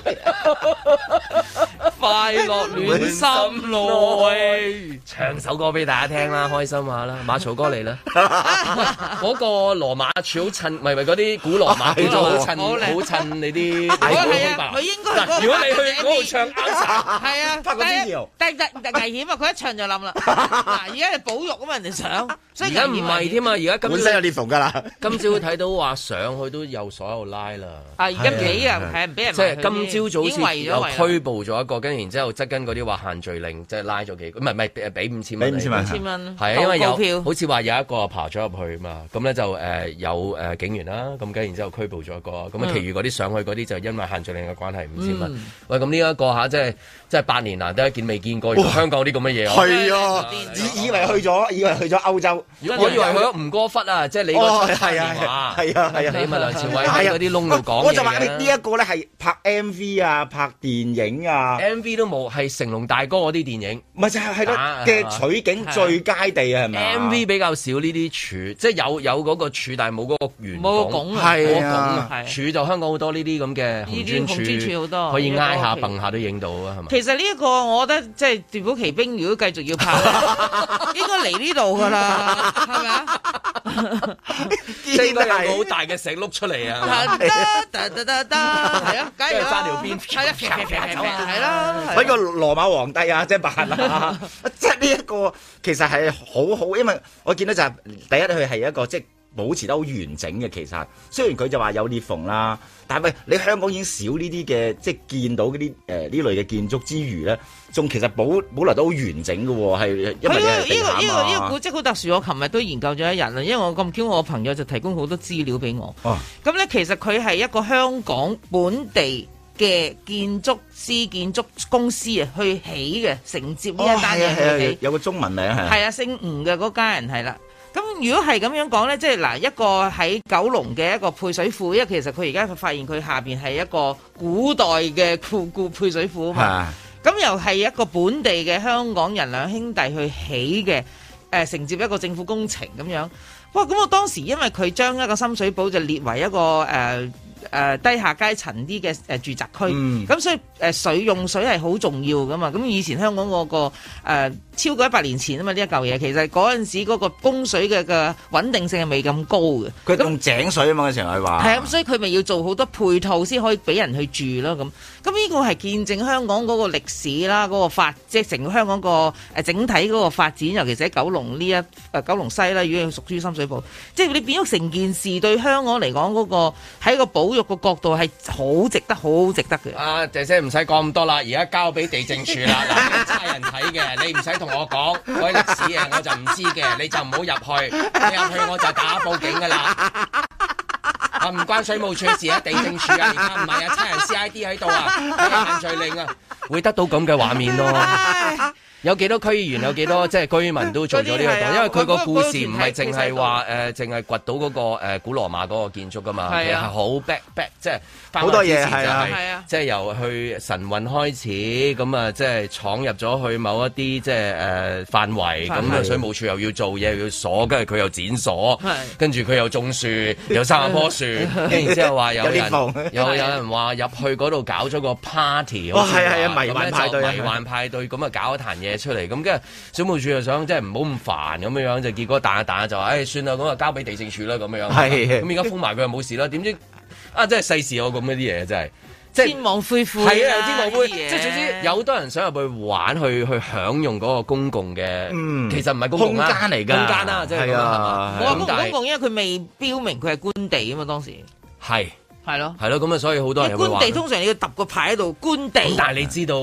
快樂暖心內。唱首歌俾大家聽啦，開心下啦。馬槽哥嚟啦，嗰個羅馬柱好襯，唔係唔係嗰啲古羅馬叫做好襯，好襯你啲。 係啊，佢應該。 如果你去嗰度唱啱晒， 係啊， 拍個 video， 但但但危險啊！佢一唱就冧啦。嗱，而家係保育啊嘛，人哋想。 而家唔係添啊，而家本身有裂縫㗎啦。 今朝睇到話上去都有所有拉啦。 啊，而家幾啊，係唔俾人。 即係今朝早好似又拘捕咗一個，跟然之後側跟嗰啲話限聚令，即係拉咗幾個，唔係唔係俾五千蚊。 俾五千蚊。 五千蚊。 係啊，因為有好似話有一個爬咗入去嘛，咁咧就誒有誒警員啦，咁跟然之後拘捕咗一個，咁啊，其餘嗰啲上去嗰啲就因為限聚令嘅關係五千蚊。喂，咁呢一個嚇，即係即係八年難得一見未見過，香港啲咁嘅嘢。 係啊，以以為去咗，以為去咗歐洲。 我以為去咗吳哥窟啊，即係你嗰出電話， 係啊係啊， 你咪梁朝偉喺嗰啲窿度講嘢。 我就話呢一個咧係拍 M V 啊，拍電影啊 ，M V 都冇，係成龍大哥嗰啲電影。 唔係就係係咯嘅取景最佳地啊，係咪 M V 比較少呢啲柱，即係有有嗰個柱，但係冇嗰個圓冇個拱啊， 係啊， 柱就香港好多呢啲咁嘅紅磚柱，紅磚柱好多，可以挨下蹦下都影到啊，係咪？ 其實呢一個我覺得即係奪寶奇兵，如果繼續要拍，應該嚟呢度噶啦，係咪啊？ 即係應該有個好大嘅石碌出嚟啊！ 得得得得得，係啊，梗係啦， 揸條邊， 係啦，係啦， 揾個羅馬皇帝啊，即係扮啊！即係呢一個其實係好好，因為我見到就係第一佢係一個即係保持得好完整嘅。其實雖然佢就話有裂縫啦，但係你香港已經少呢啲嘅，即係見到嗰啲誒呢類嘅建築之餘咧，仲其實保保留得好完整嘅喎，係因為呢個呢個呢個古蹟好特殊。我琴日都研究咗一日啦，因為我咁巧，我朋友就提供好多資料俾我。哦，咁咧其實佢係一個香港本地嘅建築師、建築公司啊，去起嘅，承接呢一單嘢去起。 有個中文名係。係啊，姓吳嘅嗰家人係啦。咁如果係咁樣講咧，即係嗱一個喺九龍嘅一個配水庫，因為其實佢而家發現佢下邊係一個古代嘅庫庫配水庫啊嘛。咁又係一個本地嘅香港人兩兄弟去起嘅，誒、呃、承接一個政府工程咁樣。哇！咁我當時因為佢將一個深水埗就列為一個誒。呃誒、呃、低下階層啲嘅誒住宅區，咁、嗯、所以誒、呃、水用水係好重要噶嘛。咁以前香港嗰、那個、呃、超過一百年前啊嘛，呢一嚿嘢其實嗰陣時嗰個供水嘅嘅穩定性係未咁高嘅。 佢用井水啊嘛，嗰時佢話係啊，咁所以佢咪要做好多配套先可以俾人去住咯。咁咁呢個係見證香港嗰個歷史啦，嗰、那個發即係成個香港個誒整體嗰個發展，尤其是喺九龍呢一誒、呃、九龍西啦，如果屬於深水埗，即係你變咗成件事對香港嚟講嗰個喺個保育個角度係好值得，好值得嘅。 啊，姐姐唔使講咁多啦，而家交俾地政處啦。嗱，差人睇嘅，你唔使同我講嗰啲歷史嘅，我就唔知嘅，你就唔好入去。你入去我就打報警噶啦。啊，唔關水務處事啊，地政處啊，而家唔係啊，差人 C I D 喺度啊，限聚令啊，會得到咁嘅畫面咯。有幾多區議員，有幾多即係居民都做咗呢個檔，因為佢個故事唔係淨係話誒，淨係掘到嗰個誒古羅馬嗰個建築噶嘛，其實係好 back back，即係好多嘢係啊，即係由去神運開始，咁啊即係闖入咗去某一啲即係誒範圍，咁啊水務署又要做嘢，又要鎖，跟住佢又剪鎖，跟住佢又種樹，又生一棵樹，跟住之後話有人有有人話入去嗰度搞咗個 party， 哦係係啊迷幻派對， 迷幻派對咁啊搞一壇嘢出嚟，咁跟住水務署又想即係唔好咁煩咁樣樣，就結果彈一彈就話，誒、哎、算啦，咁啊交俾地政署啦咁樣樣。係，咁而家封埋佢又冇事啦。點知啊，真係世事有咁一啲嘢，真係即係天網恢恢。 係啊，天網恢，即係總之有好多人想入去玩，去去享用嗰個公共嘅，嗯、其實唔係公共空間嚟㗎， 空間啦，即係咁啊。 我話公公共，因為佢未標明佢係官地啊嘛，當時係係咯， 係咯，咁啊，所以好多人入去玩。 官地通常你要揼個牌喺度，官地。 但係你知道。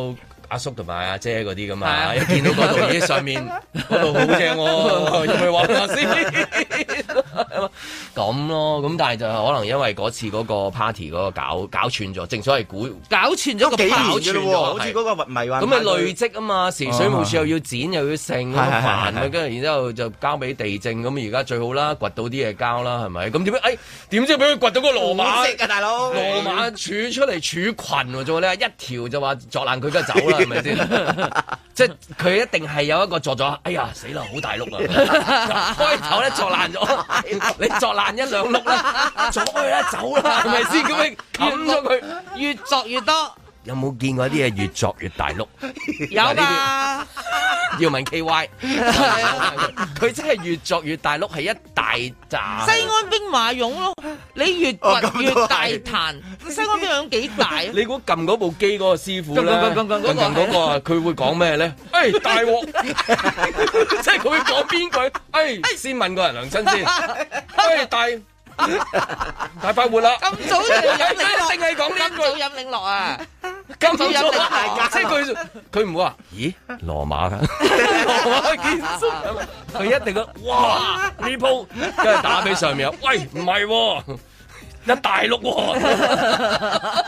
阿叔同埋阿姐嗰啲噶嘛，一見到嗰度咦上面嗰度好正喎，要唔要玩下先？咁咯，咁但係就可能因為嗰次嗰個 party 嗰個搞搞串咗，正所謂估搞串咗個幾年嘅咯，好似嗰個迷幻。 咁咪累積啊嘛，時水務署又要剪又要剩，咁煩啊，跟住然之後就交俾地政，咁而家最好啦，掘到啲嘢交啦，係咪？咁點解？誒點知俾佢掘到個羅馬？ 識啊，大佬！ 羅馬儲出嚟儲群喎，做咧一條就話作爛佢，梗係走啦，係咪先？即係佢一定係有一個作咗，哎呀死啦，好大碌啊！開頭咧作爛咗，你作爛一兩碌啦，阻佢啦，走啦，係咪先？咁你冚咗佢， 越作越多。 有冇見過啲嘢越作越大碌？ 有㗎， 要問 K Y， 佢真係越作越大碌，係一大扎。 西安兵馬俑咯，你越掘越大壇。西安兵馬俑幾大？ 你估撳嗰部機嗰個師傅咧？撳撳撳撳嗰個啊，佢會講咩咧？誒大鑊！即係佢會講邊句？誒先問個人良親先。誒大。大快活啦！ 咁早就飲領落， 定係講呢句？ 咁早飲領落啊！ 咁早飲領落，即係佢佢唔會話，咦羅馬㗎？羅馬建築，佢一定講哇呢鋪，跟住打俾上面啊！喂唔係喎，一大碌喎。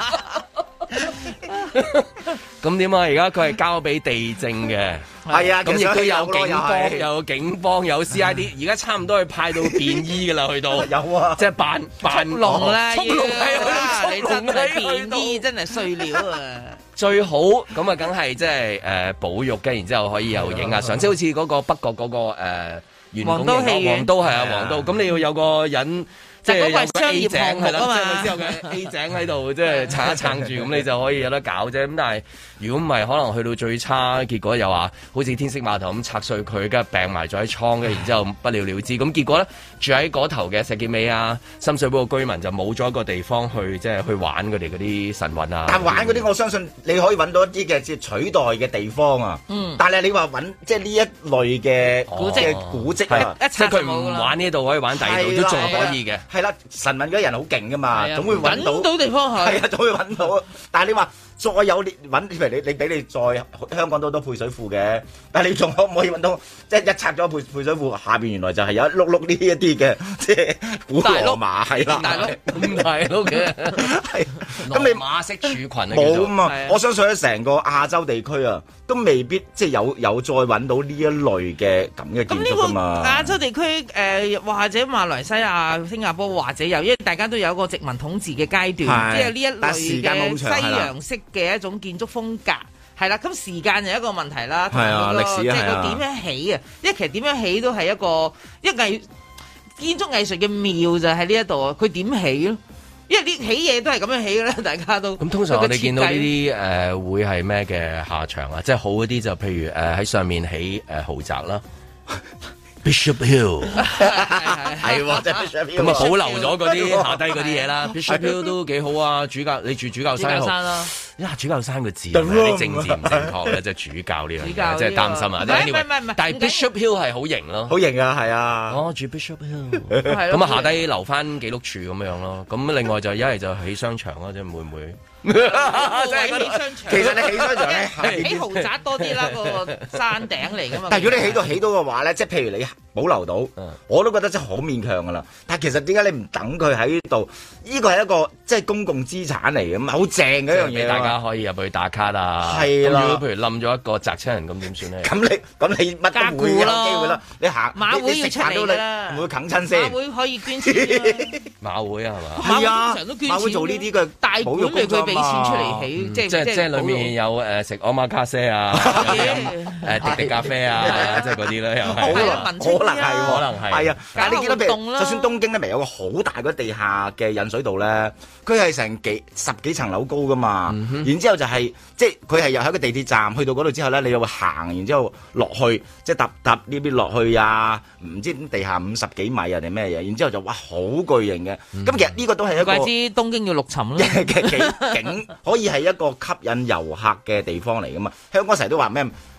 咁點啊？而家佢係交俾地政嘅， 係啊， 咁亦都有警方，有警方，有 C I D， 而家差唔多係派到便衣噶啦，去到有啊， 即係扮扮龍啦， 速龍係你真係便衣，真係碎料啊！ 最好咁啊，梗係即係誒保育嘅，然之後可以又影下相，即係好似嗰個北角嗰個誒圓拱形皇都係啊，皇都咁你要有個人。即係有個 A 井係啦，即係佢之後嘅 A 井喺度，即係撐一撐住，咁你就可以有得搞啫。咁但係如果唔係，可能去到最差，結果又話好似天星碼頭咁拆碎佢，跟住病埋咗喺倉嘅，然之後不了了之。咁結果咧，住喺嗰頭嘅石硤尾啊、深水埗嘅居民就冇咗一個地方去，即係去玩佢哋嗰啲神韻啊。 但玩嗰啲，我相信你可以揾到一啲嘅即係取代嘅地方啊。嗯。但係你話揾即係呢一類嘅古蹟古蹟啊， 即係佢唔玩呢度，可以玩第二度都仲可以嘅。 係啦，神韻嗰啲人好勁噶嘛，總會揾到， 到地方係， 係啊，總會揾到。但係你話再有你揾，譬如你你俾你再香港都好多配水庫嘅，但係你仲可唔可以揾到？即係一拆咗配配水庫下邊原來就係有一碌碌呢一啲嘅，即係古羅馬係啦， 大碌咁大碌嘅，係咁你馬式儲群冇啊嘛？我相信喺成個亞洲地區啊，都未必即係有有再揾到呢一類嘅咁嘅建築噶嘛。 亞洲地區誒或者馬來西亞、新加坡或者有，因為大家都有個殖民統治嘅階段，即係呢一類嘅西洋式嘅一種建築風格，係啦。咁時間就一個問題啦，同埋嗰個即係佢點樣起啊？因為其實點樣起都係一個一藝建築藝術嘅妙就喺呢一度啊！佢點起咯？因為啲起嘢都係咁樣起嘅啦，大家都。 咁通常我哋見到呢啲誒會係咩嘅下場啊？即係好嗰啲就譬如誒喺上面起誒豪宅啦。Bishop Hill 係喎，真係 Bishop Hill 咁啊，保留咗嗰啲下低嗰啲嘢啦。Bishop Hill 都幾好啊，主教你住主教山號啦。呀，主教山個字係咪啲政治唔正確咧？即係主教呢樣嘢，即係擔心啊。 唔係唔係唔係， 但係 Bishop Hill 係好型咯， 好型啊，係啊。 哦，住 Bishop Hill，咁啊下低留翻記錄處咁樣咯。咁另外就一係就起商場咯，即係會唔會？ 即係起商場， 其實你起商場咧， 起豪宅多啲啦，個山頂嚟噶嘛。 但係如果你起到起到嘅話咧，即係譬如你保留到，我都覺得真係好勉強噶啦。但係其實點解你唔等佢喺度？呢個係一個即係公共資產嚟嘅嘛，好正嘅一樣嘢， 大家可以入去打卡啊。 係啦， 如果譬如冧咗一個砸親人，咁點算咧？ 咁你咁你乜都會有機會啦。你行馬會要出嚟啦， 會唔會啃親先？ 馬會可以捐錢啦。 馬會啊，係嘛？ 係啊， 常都捐錢。 馬會做呢啲嘅大本嚟，佢俾錢出嚟起，即係即係即係裏面有誒食奧馬卡西啊，誒滴滴咖啡啊，即係嗰啲咧又係。 可能可能係，可能係。係啊，但係你見到譬如，就算東京咧，咪有個好大嗰地下嘅引水道咧，佢係成幾十幾層樓高噶嘛。然之後就係即係佢係又喺個地鐵站去到嗰度之後咧，你又會行，然之後落去，即係搭搭呢邊落去啊，唔知地下五十幾米啊定咩嘢？然之後就哇好巨型嘅。咁其實呢個都係一個。怪之東京要陸沉咯。 嘅景景可以係一個吸引遊客嘅地方嚟噶嘛？香港成日都話咩？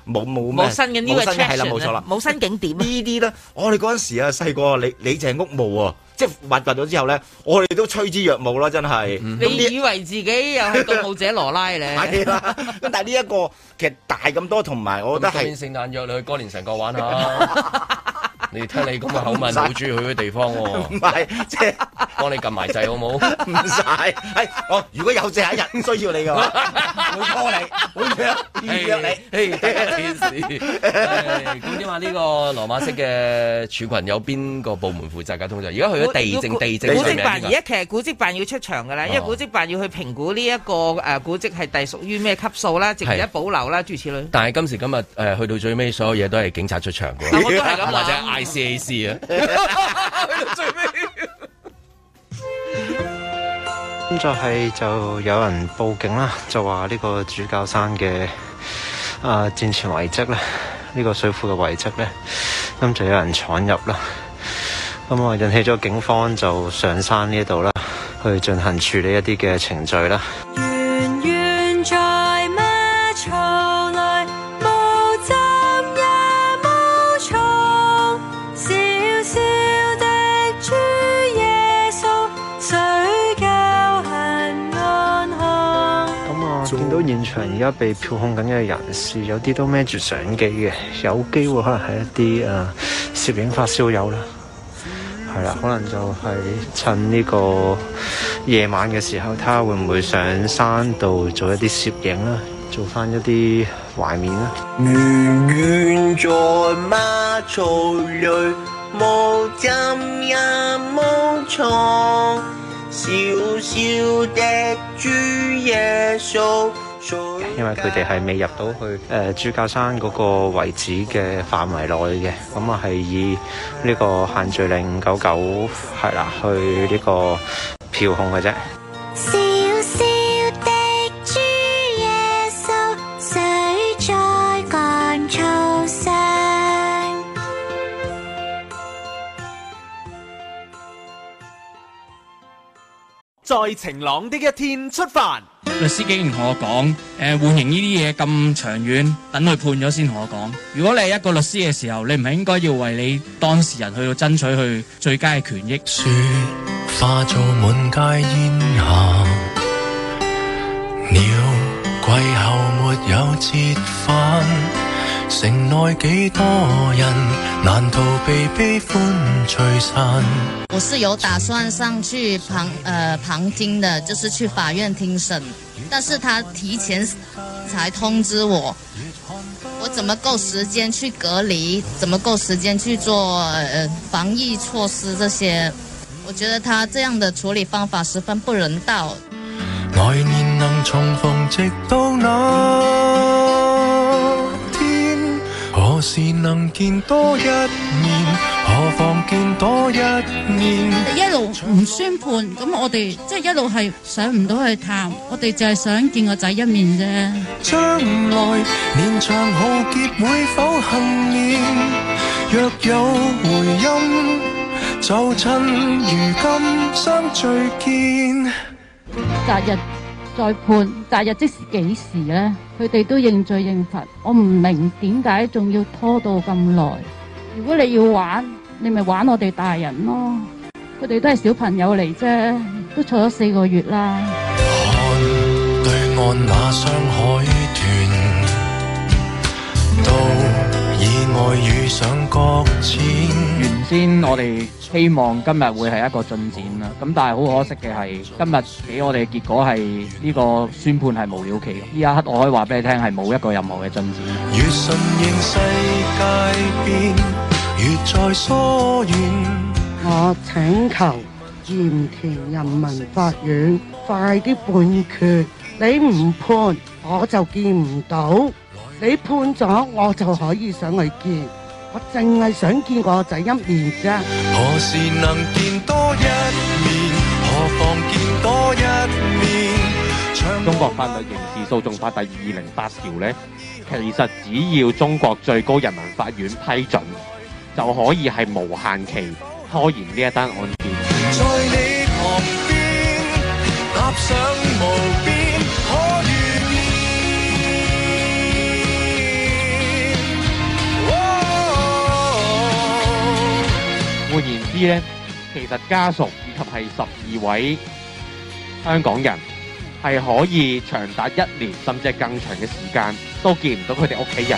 冇冇咩冇新嘅呢個 attraction 係啦，冇錯啦， 冇新景點呢啲咧，我哋嗰陣時啊細個，你你就係屋務啊，即係挖掘咗之後咧，我哋都趨之若鶩啦，真係。 你以為自己又係盜墓者羅拉咧？ 係啦，咁但係呢一個其實大咁多，同埋我覺得係。今年聖誕約你去哥連臣角玩下。你聽你咁嘅口吻，好中意去嘅地方喎。唔係，即係幫你撳埋掣好冇？唔使，係我如果有這一日需要你嘅話，會 call 你，會約預約你。誒，第一件事。咁點啊？呢個羅馬式嘅儲群有邊個部門負責㗎？通常而家去咗地政地政古蹟辦，而家其實古蹟辦要出場㗎啦，因為古蹟辦要去評估呢一個誒古蹟係隸屬於咩級數啦，值唔值得保留啦，諸如此類。 但係今時今日誒去到最尾，所有嘢都係警察出場㗎。 我都係咁或者 I C A C 啊，去到最尾。 咁就係就有人報警啦，就話呢個主教山嘅啊戰前遺跡咧，呢、呢個水庫嘅遺跡咧，咁就有人闖入啦，咁啊引起咗警方就上山呢度啦，去進行處理一啲嘅程序啦。 圓圓在馬槽內，無針也無蟲，小小的主耶穌，誰教行安康。 咁啊，見到現場而家被票控緊嘅人士，有啲都孭住相機嘅，有機會可能係一啲啊攝影發燒友啦。係啦，可能就係趁呢個夜晚嘅時候，睇下會唔會上山度做一啲攝影啦，做翻一啲懷緬啦。 圓圓在馬槽裡，無針也無蟲，小小的主耶穌。 因為佢哋係未入到去誒、呃、主教山嗰個遺址嘅範圍內嘅，咁啊係以呢個限聚令五九九係啦，去呢個票控嘅啫。 小小的主耶穌，誰在乾草上？ 在晴朗的一天出發。 律師竟然同我講，誒、呃，緩刑呢啲嘢咁長遠，等佢判咗先同我講。如果你係一個律師嘅時候，你唔係應該要為你當事人去到爭取去最佳嘅權益。 雪化做滿街煙霞，鳥季後沒有折返，城內幾多人難逃避悲歡聚散。 我是有打算上去旁呃旁聽的，就是去法院聽審，但是他提前才通知我，我怎麼夠時間去隔離？怎麼夠時間去做呃防疫措施這些？我覺得他這樣的處理方法十分不人道。 來年能重逢，直到那天，何時能見多一面？何妨見多一面？ 一路唔宣判，咁我哋即係一路係上唔到去探，我哋就係想見個仔一面啫。 將來連場浩劫會否幸免？若有回音，就趁如今相聚見。 擇日再判，擇日即是幾時呢？佢哋都認罪認罰，我唔明點解仲要拖到咁耐。如果你要玩，你咪玩我哋大人咯。佢哋都係小朋友嚟啫，都坐咗四個月啦。 看對岸那雙海豚，到意外遇上擱淺。 原先我哋希望今日會係一個進展啦，咁但係好可惜嘅係，今日俾我哋嘅結果係呢個宣判係無了期。呢一刻我可以話俾你聽係冇一個任何嘅進展。 越順應世界變，越在疏遠。 我請求鹽田人民法院快啲判決，你唔判我就見唔到，你判咗我就可以上去見，我淨係想見我仔一面啫。 何時能見多一面？何妨見多一面？ 中國法律刑事訴訟法第二零八條呢，其實只要中國最高人民法院批准，就可以係無限期拖延呢一單案件。 在你旁邊踏上無邊可遇見， 咧，其實家屬以及係十二位香港人係可以長達一年甚至係更長嘅時間都見唔到佢哋屋企人。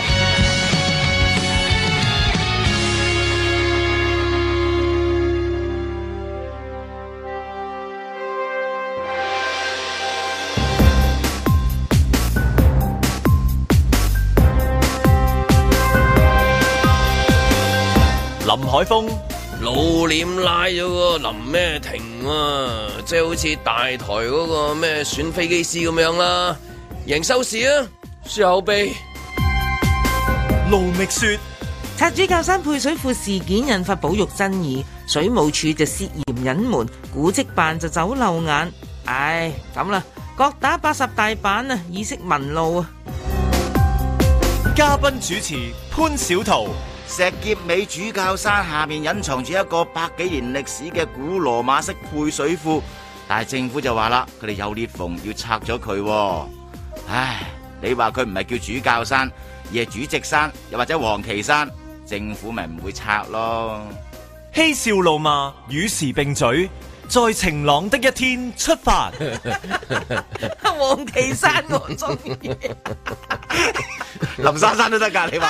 林海峰老臉拉咗個林咩婷啊，即係好似大台嗰個咩選飛機師咁樣啦，贏收視啊，輸口碑。 盧覓雪拆主教山配水庫事件引發保育爭議，水務署就涉嫌隱瞞，古蹟辦就走漏眼。唉，咁啦，各打八十大板啊，以息民怒啊！ 嘉賓主持潘小桃。 石硤尾主教山下面隱藏住一個百幾年歷史嘅古羅馬式配水庫，但係政府就話啦，佢哋有裂縫要拆咗佢。唉，你話佢唔係叫主教山，而係主席山，又或者黃旗山，政府咪唔會拆咯。 嬉笑怒罵與時並舉，在晴朗的一天出發。 黃旗山我中意。 林珊珊都得㗎，你話、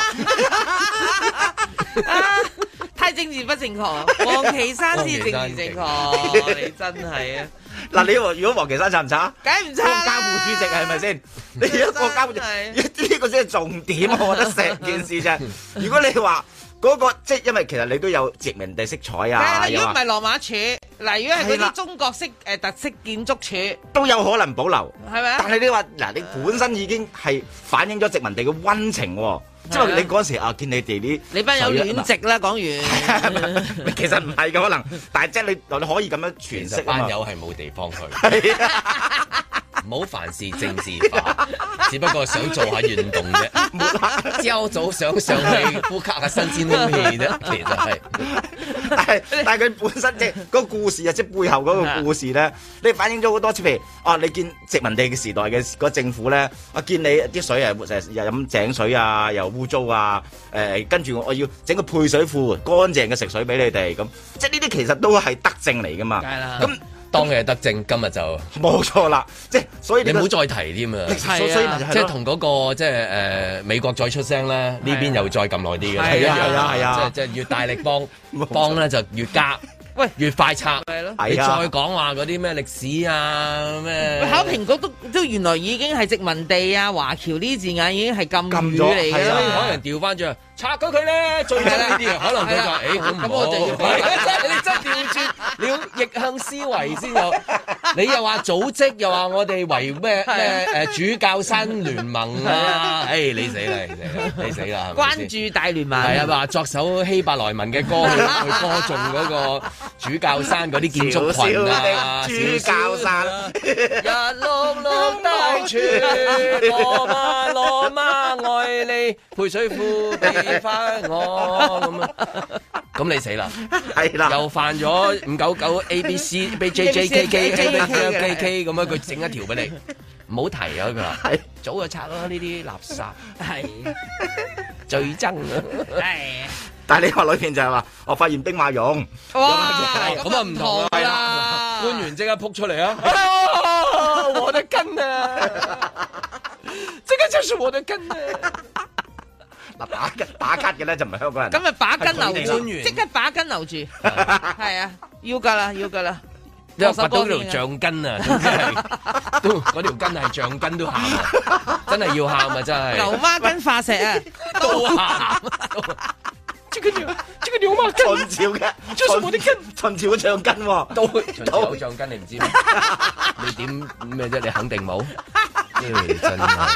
啊、太政治不正確，黃旗山先政治正確，你真係啊！ 嗱，你話如果黃旗山拆唔拆？ 梗係唔拆啦！ 國家副主席係咪先？你一個國家副主席，呢個先係重點，我覺得成件事啫。如果你話嗰、那個即係因為其實你都有殖民地色彩啊， 如果唔係羅馬柱，嗱，如果係嗰啲中國式誒、呃、特色建築柱， 都有可能保留， 係咪啊？ 但係你話嗱，你本身已經係反映咗殖民地嘅溫情喎。即係你嗰陣時啊，見你哋啲你班有戀殖啦，講完其實唔係嘅可能，但係即係你你可以咁樣詮釋啊嘛。 班友係冇地方去，唔好凡事政治化，只不過想做下運動啫。朝早想上去呼吸下新鮮空氣啫，其實係。 但係但係佢本身即係嗰個故事啊，即係背後嗰個故事咧，你反映咗好多次。譬如啊，你見殖民地嘅時代嘅嗰政府咧，我見你啲水係成日又飲井水啊，又污糟啊，誒跟住我要整個配水庫，乾淨嘅食水俾你哋咁，即係呢啲其實都係德政嚟噶嘛。 梗係啦。 咁當嘅德政，今日就冇錯啦。即係所以你唔好再提添啊。 所以即係同嗰個即係誒美國再出聲咧，呢邊又再撳耐啲嘅。 係啊係啊係啊！ 即係即係越大力幫幫咧就越加。喂，越快拆係咯，你再講話嗰啲咩歷史啊咩？ 考評局都都原來已經係殖民地啊，華僑呢啲字眼已經係禁語嚟嘅， 可能調翻轉拆咗佢咧，最憎呢啲啊，可能佢就誒咁咁我就要，你真調轉，你要逆向思維先有。你又話組織，又話我哋為咩咩誒主教山聯盟啊？誒你死啦，你死啦！ 關注大聯盟係啊，話作首希伯來文嘅歌去去歌頌嗰個主教山嗰啲建築群啊， 主教山日碌碌大船，羅馬羅馬愛你，配水庫俾翻我咁啊！咁你死啦， 係啦， 又犯咗五九九 A B C B J J K K K K 咁樣，佢整一條俾你，唔好提啊！佢話係早就拆咯，呢啲垃圾係最憎啊！係。 但係你話裏邊就係話，我發現兵馬俑， 哇！咁啊唔同啦，官員即刻撲出嚟啊！我的根啊！這個就是我的根啊！ 嗱，打打卡嘅咧就唔係香港人， 咁咪把根留住，即刻把根留住，係啊，要噶啦，要噶啦， 因為掘到條橡筋啊，總之係都嗰條筋係橡筋都喊啊，真係要喊啊，真係牛孖筋化石啊， 都喊。這個牛，這個牛馬根， 秦朝嘅， 這是我的根， 秦朝嘅橡筋喎， 都秦朝有橡筋，你唔知咩？你點咩啫？你肯定冇，真係。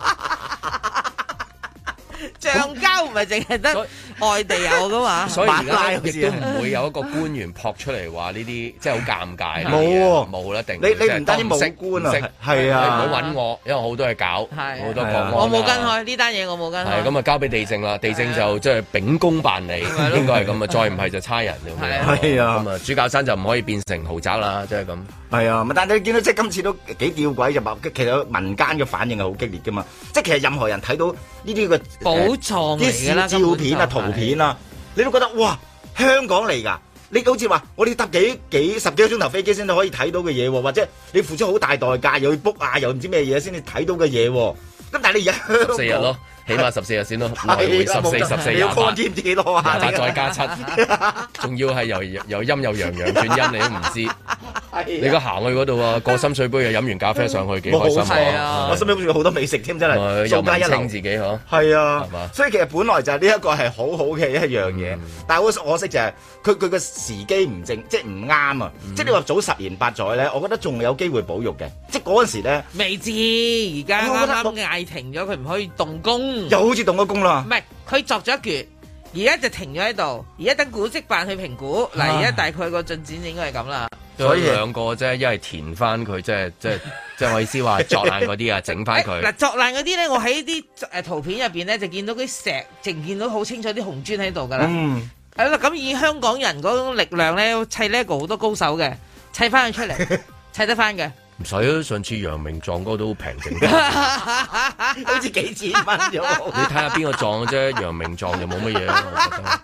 橡膠唔係淨係得外地有噶嘛， 所以而家亦都唔會有一個官員撲出嚟話呢啲，即係好尷尬。 冇喎， 冇啦，定你你唔單止冇官啊，係啊， 唔好揾我，因為好多嘢搞，好多國安。 我冇跟開呢單嘢，我冇跟開。 係咁啊，交俾地政啦，地政就即係秉公辦理，應該係咁啊，再唔係就差人咁樣。 係啊， 咁啊，主教山就唔可以變成豪宅啦，即係咁。 係啊，但係你見到即係今次都幾吊詭就話，其實民間嘅反應係好激烈噶嘛，即係其實任何人睇到呢啲嘅寶藏嚟㗎啦， 照片啊、圖片啊，你都覺得哇，香港嚟㗎， 你好似話我哋搭幾幾十幾個鐘頭飛機先至可以睇到嘅嘢，或者你付出好大代價又要 book 啊，又唔知咩嘢先至睇到嘅嘢。咁但係你而家十四日咯。起碼十四日先咯，來回十四十四廿八， 知唔知幾多啊？ 廿八再加七，仲要係由由陰又陽陽轉陰，你都唔知。你而家行去嗰度啊，過深水埗又飲完咖啡上去，幾開心啊！ 我身邊好似好多美食添，真係又文青自己嗬。 係啊，所以其實本來就係呢一個係好好嘅一樣嘢，但係好可惜就係佢佢個時機唔正，即係唔啱啊！即係你話早十年八載咧，我覺得仲有機會保育嘅。即係嗰陣時咧， 未知而家啱啱嗌停咗，佢唔可以動工。 又好似動咗工啦， 唔係佢作咗一橛，而家就停咗喺度，而家等古蹟辦去評估。嗱，而家大概個進展應該係咁啦。 所以兩個啫，一係填翻佢，即係即係即係我意思話作爛嗰啲啊，整翻佢。 嗱，作爛嗰啲咧，我喺啲誒圖片入邊咧就見到啲石，淨見到好清楚啲紅磚喺度噶啦。嗯，係啦，咁以香港人嗰種力量咧，砌 LEGO 好多高手嘅，砌翻佢出嚟，砌得翻嘅。 唔使啊！上次陽明撞嗰個都好平整， 好似幾千蚊咗。 你睇下邊個撞嘅啫，陽明撞就冇乜嘢啦。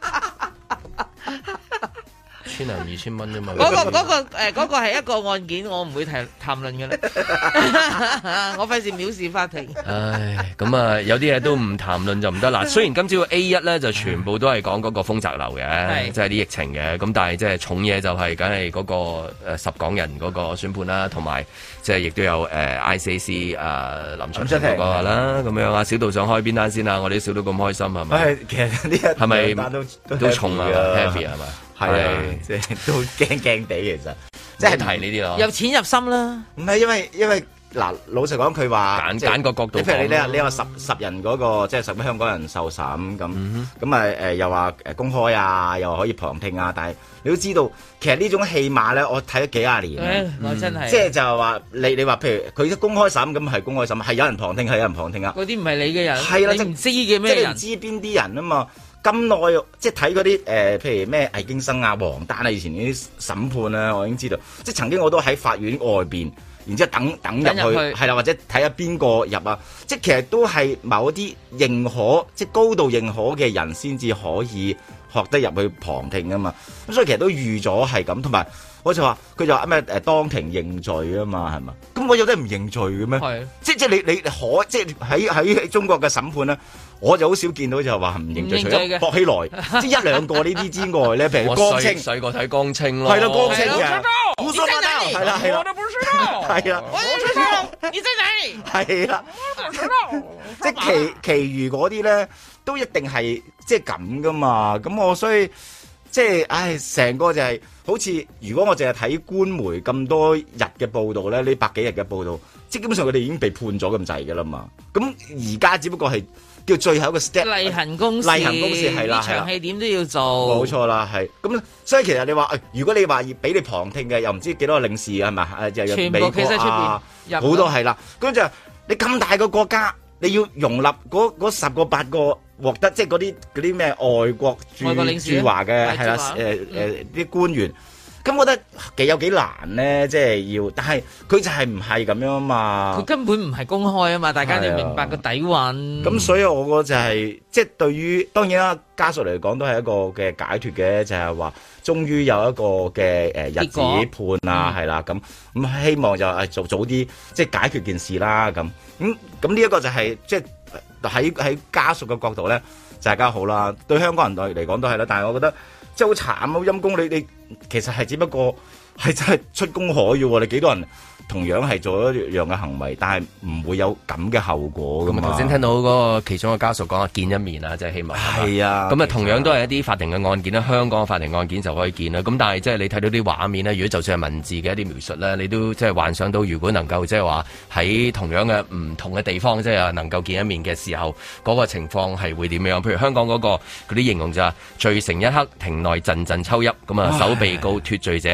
千零二千蚊啫嘛。 嗰個嗰個誒嗰個係一個案件，我唔會談談論嘅啦。我費事藐視法庭。 唉，咁啊，有啲嘢都唔談論就唔得啦。雖然今朝 A 一咧就全部都係講嗰個豐澤樓嘅，即係啲疫情嘅。咁但係即係重嘢就係梗係嗰個誒十港人嗰個宣判啦，同埋即係亦都有誒 I C A C 誒林卓廷嗰個啦。咁樣啊，小道想開邊單先啊？我哋笑到咁開心係咪？ 其實呢一係咪都都重啊 ？Happy 係咪？ 係，即係都驚驚地，其實即係提呢啲咯。 有錢入心啦， 唔係因為因為嗱，老實講佢話揀揀個角度， 譬如你你你話十十人嗰個即係十個香港人受審咁，咁啊誒又話誒公開啊，又可以旁聽啊，但係你都知道，其實呢種戲碼咧，我睇咗幾廿年， 我真係， 即係就係話你你話譬如佢公開審咁係公開審，係有人旁聽係有人旁聽啊， 嗰啲唔係你嘅人， 係啦， 你唔知嘅咩人， 即係唔知邊啲人啊嘛。咁耐即係睇嗰啲誒，譬如咩魏京生啊、黃丹啊，以前啲審判啊，我已經知道。即係曾經我都喺法院外邊，然之後等等入去，係啦，或者睇下邊個入啊。即係其實都係某一啲認可，即係高度認可嘅人先至可以學得入去旁聽啊嘛。咁所以其實都預咗係咁，同埋我就話佢就話咩誒當庭認罪啊嘛，係嘛？咁我有得唔認罪嘅咩？係即即係你你可即係喺喺中國嘅審判咧。我就好少見到就話唔認罪，除咗薄熙來，即係一兩個呢啲之外咧，譬如江青， 細個睇江青咯， 係啦，江青嘅， 你在哪裡？ 係啦係啦， 我都不知道， 係啦， 我都知道，你在哪裡？ 係啦，我都知道，即係其其餘嗰啲咧，都一定係即係咁噶嘛。咁我所以即係，唉，成個就係好似如果我淨係睇官媒咁多日嘅報導咧，呢百幾日嘅報導，即係基本上佢哋已經被判咗咁滯噶啦嘛。咁而家只不過係。叫最後一個 step 例行公事， 例行公事係啦， 場戲點都要做， 冇錯啦，係咁。所以其實你話，如果你話要俾你旁聽嘅，又唔知幾多個領事係咪？誒，又全部企喺出邊， 好多係啦。咁就你咁大個國家，你要容納嗰嗰十個八個獲得，即係嗰啲嗰啲咩外國駐駐華嘅係啦，誒誒啲官員。咁我覺得幾有幾難咧，即係要，但係佢就係唔係咁樣啊嘛， 佢根本唔係公開啊嘛，大家要明白個底蘊。 咁所以我覺得就係、是，即係對於當然啦，家屬嚟講都係一個嘅解脫嘅，就係、是、話終於有一個嘅誒日子判啊，係啦，咁咁希望就誒早早啲即係解決件事啦，咁咁咁呢一個就係、是、即係喺喺家屬嘅角度咧，就係更好啦。對香港人嚟講都係啦，但係我覺得。即係好慘，好陰公，你你其實係只不過係真係出公海嘅喎，你幾多人同樣係做一樣嘅行為，但係唔會有咁嘅後果㗎嘛。 頭先聽到嗰個其中嘅家屬講話見一面啊，即係希望係啊。 咁啊，同樣都係一啲法庭嘅案件啦，香港嘅法庭案件就可以見啦。咁但係即係你睇到啲畫面咧，如果就算係文字嘅一啲描述咧，你都即係幻想到，如果能夠即係話喺同樣嘅唔同嘅地方，即係能夠見一面嘅時候，嗰個情況係會點樣？譬如香港嗰個嗰啲形容就係罪成一刻，庭內陣陣抽泣，咁啊，首被告脫罪者欲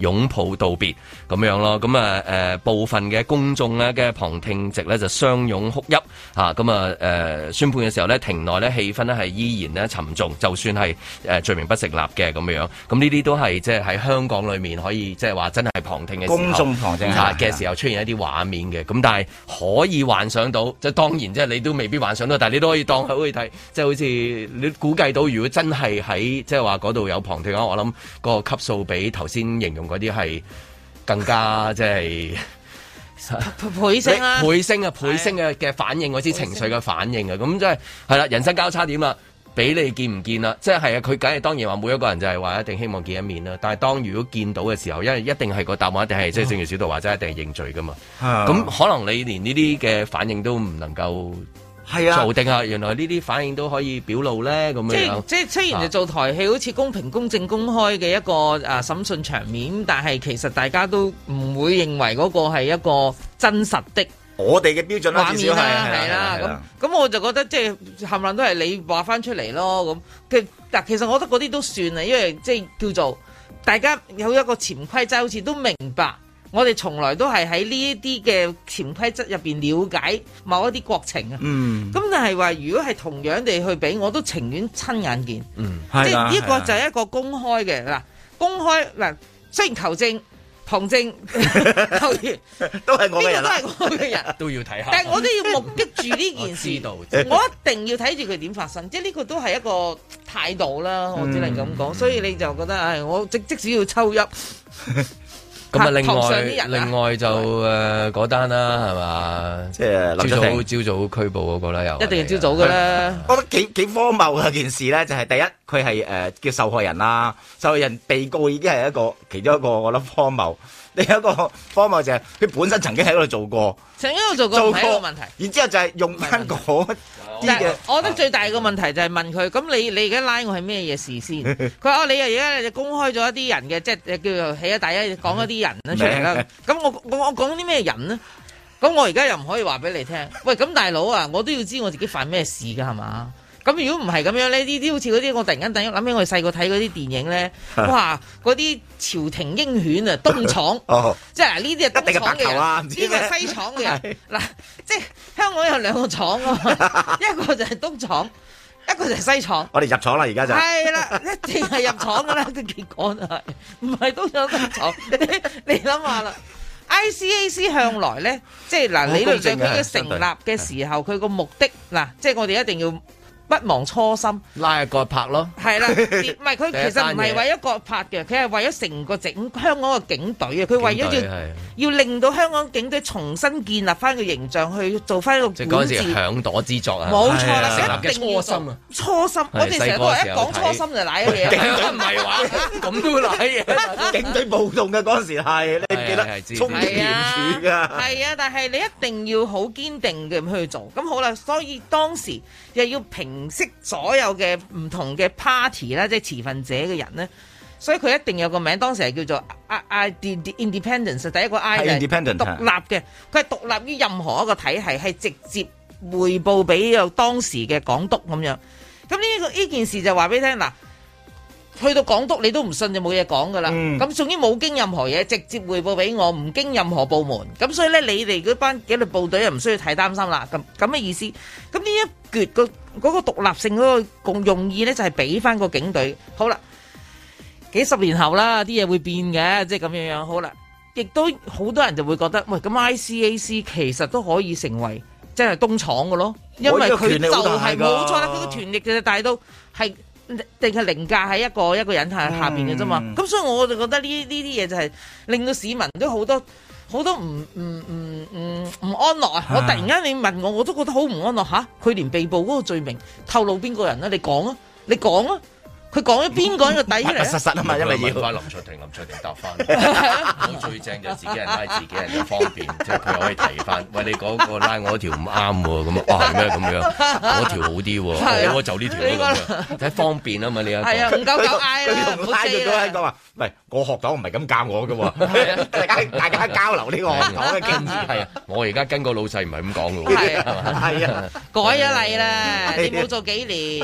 擁抱道別咁樣咯。咁啊誒部分嘅公眾咧嘅旁聽席咧就相擁哭泣嚇。咁啊誒宣判嘅時候咧，庭內咧氣氛咧係依然咧沉重，就算係誒罪名不成立嘅咁樣。咁呢啲都係即係喺香港裏面可以即係話真係旁聽嘅時候， 公眾旁聽嘅時候出現一啲畫面嘅。咁但係可以幻想到，即係當然即係你都未必幻想到，但係你都可以當可以睇，即係好似你估計到，如果真係喺即係話嗰度有旁聽嘅話，我諗個級數比頭先形容嗰啲係更加即係倍升啦， 倍升啊，倍升嘅嘅反應，嗰啲情緒嘅反應啊，咁即係係啦，人生交叉點啦。俾你見唔見啦？即係係啊，佢梗係當然話每一個人就係話一定希望見一面啦。但係當如果見到嘅時候，因為一定係個答案一定係即係正如小道話齋，一定係認罪噶嘛。咁、哦、可能你連呢啲嘅反應都唔能夠係啊做定啊？原來呢啲反應都可以表露咧咁樣。 即係雖然就做台戲，好似公平、公正、公開嘅一個啊審訊場面，但係其實大家都唔會認為嗰個係一個真實的。 我哋嘅標準啦，至少係係啦，咁咁我就覺得即係冚唪唥都係你話翻出嚟咯。咁嘅嗱，其實我覺得嗰啲都算啦，因為即係叫做大家有一個潛規則，好似都明白。我哋從來都係喺呢一啲嘅潛規則入邊了解某一啲國情啊。嗯。咁但係話，如果係同樣地去比，我都情願親眼見。嗯。即係呢個就係一個公開嘅嗱，公開嗱，雖然求證。旁證球員都係我嘅人， 都係我嘅人， 都要睇下。 但係我都要目擊住呢件事，我，我一定要睇住佢點發生，即係呢個都係一個態度啦。我只能咁講，嗯、所以你就覺得，唉，我即即使要抽泣。 咁啊，另外另外就誒嗰單啦，係嘛？即係朝早朝早拘捕嗰個啦，又一定係朝早㗎啦。 我覺得幾幾荒謬嘅件事咧，就係第一，佢係誒叫受害人啦，受害人被告已經係一個其中一個，我覺得荒謬。另一個荒謬就係佢本身曾經喺嗰度做過，曾經喺度做過，唔係一個問題。然之後就係用翻嗰啲嘅。我覺得最大嘅問題就係問佢，咁你你而家拉我係咩嘢事先？佢話哦，你而家就公開咗一啲人嘅，即係叫做起咗大家講一啲人啦出嚟啦。咁我我我講啲咩人呢？咁我而家又唔可以話俾你聽。喂，咁大佬啊，我都要知我自己犯咩事㗎係嘛？咁如果唔係咁樣咧，呢啲好似嗰啲我突然間突然諗起我哋細個睇嗰啲電影咧，哇！嗰啲朝廷鷹犬啊，東廠，哦、即係嗱呢啲係東廠嘅人，呢個係西廠嘅人。嗱，即係香港有兩個廠啊嘛，一個就係東廠，一個就係西廠。我哋入廠啦，而家就係啦，一定係入廠噶啦，個結果就係唔係東廠東廠。你你諗下啦 ，I C A C 向來咧，即係嗱理論上佢嘅成立嘅時候，佢個目的嗱，即係我哋一定要。不忘初心， 拉個拍咯， 係啦，唔係佢其實唔係為一個拍嘅，佢係為咗成個整香港嘅警隊啊！佢為咗要要令到香港警隊重新建立翻個形象，去做翻一個管治。即係嗰陣時響朵之作啊！冇錯啦，成立嘅初心啊！初心，我哋成日都話一講初心就賴咗嘢。警隊唔係話咁都賴嘢，警隊暴動嘅嗰陣時係，你記得衝擊廉署㗎。係啊，但係你一定要好堅定嘅去做。咁好啦，所以當時又要平識所有嘅唔同嘅 party 啦，即係持份者嘅人咧，所以佢一定有個名，當時係叫做 I I Independence， 第一個 I 係獨立嘅，佢係獨立於任何一個體系，係直接匯報俾有當時嘅港督咁樣。咁呢個呢件事就話俾你聽嗱。去到港督你都唔信就冇嘢講噶啦，咁總之冇經任何嘢，直接匯報俾我，唔經任何部門，咁所以咧你哋嗰班紀律部隊又唔需要太擔心啦，咁咁嘅意思。咁呢一橛個嗰個獨立性嗰個共用意咧就係俾翻個警隊。好啦，幾十年後啦，啲嘢會變嘅，即係咁樣樣。好啦，亦都好多人就會覺得，喂，咁 I C A C 其實都可以成為即係東廠嘅咯，因為佢就係冇錯啦，佢個權力就大到係。定係凌駕喺一個一個人下下邊嘅啫嘛，咁、嗯、所以我就覺得呢呢啲嘢就係令到市民都好多好多唔唔唔唔唔安樂啊！我突然間你問我，我都覺得好唔安樂吓，佢連被捕嗰個罪名透露邊個人啊？你講啊，你講啊！佢講咗邊個人個底出嚟？實實啊嘛，因為要翻林卓廷，林卓廷答翻。我最正就自己人拉自己人就方便，即係佢可以提翻。喂，你嗰個拉我條唔啱喎，咁啊，哇係咩咁樣？嗰條好啲喎，我就呢條咁樣，睇方便啊嘛，你一個。係啊，唔夠夠嗌啦，唔好拉住嗰一個話，唔係我學黨唔係咁教我嘅喎，大家大家交流呢個學黨嘅經驗。係啊，我而家跟個老細唔係咁講嘅喎。係啊，係啊，改咗例啦，你冇做幾年。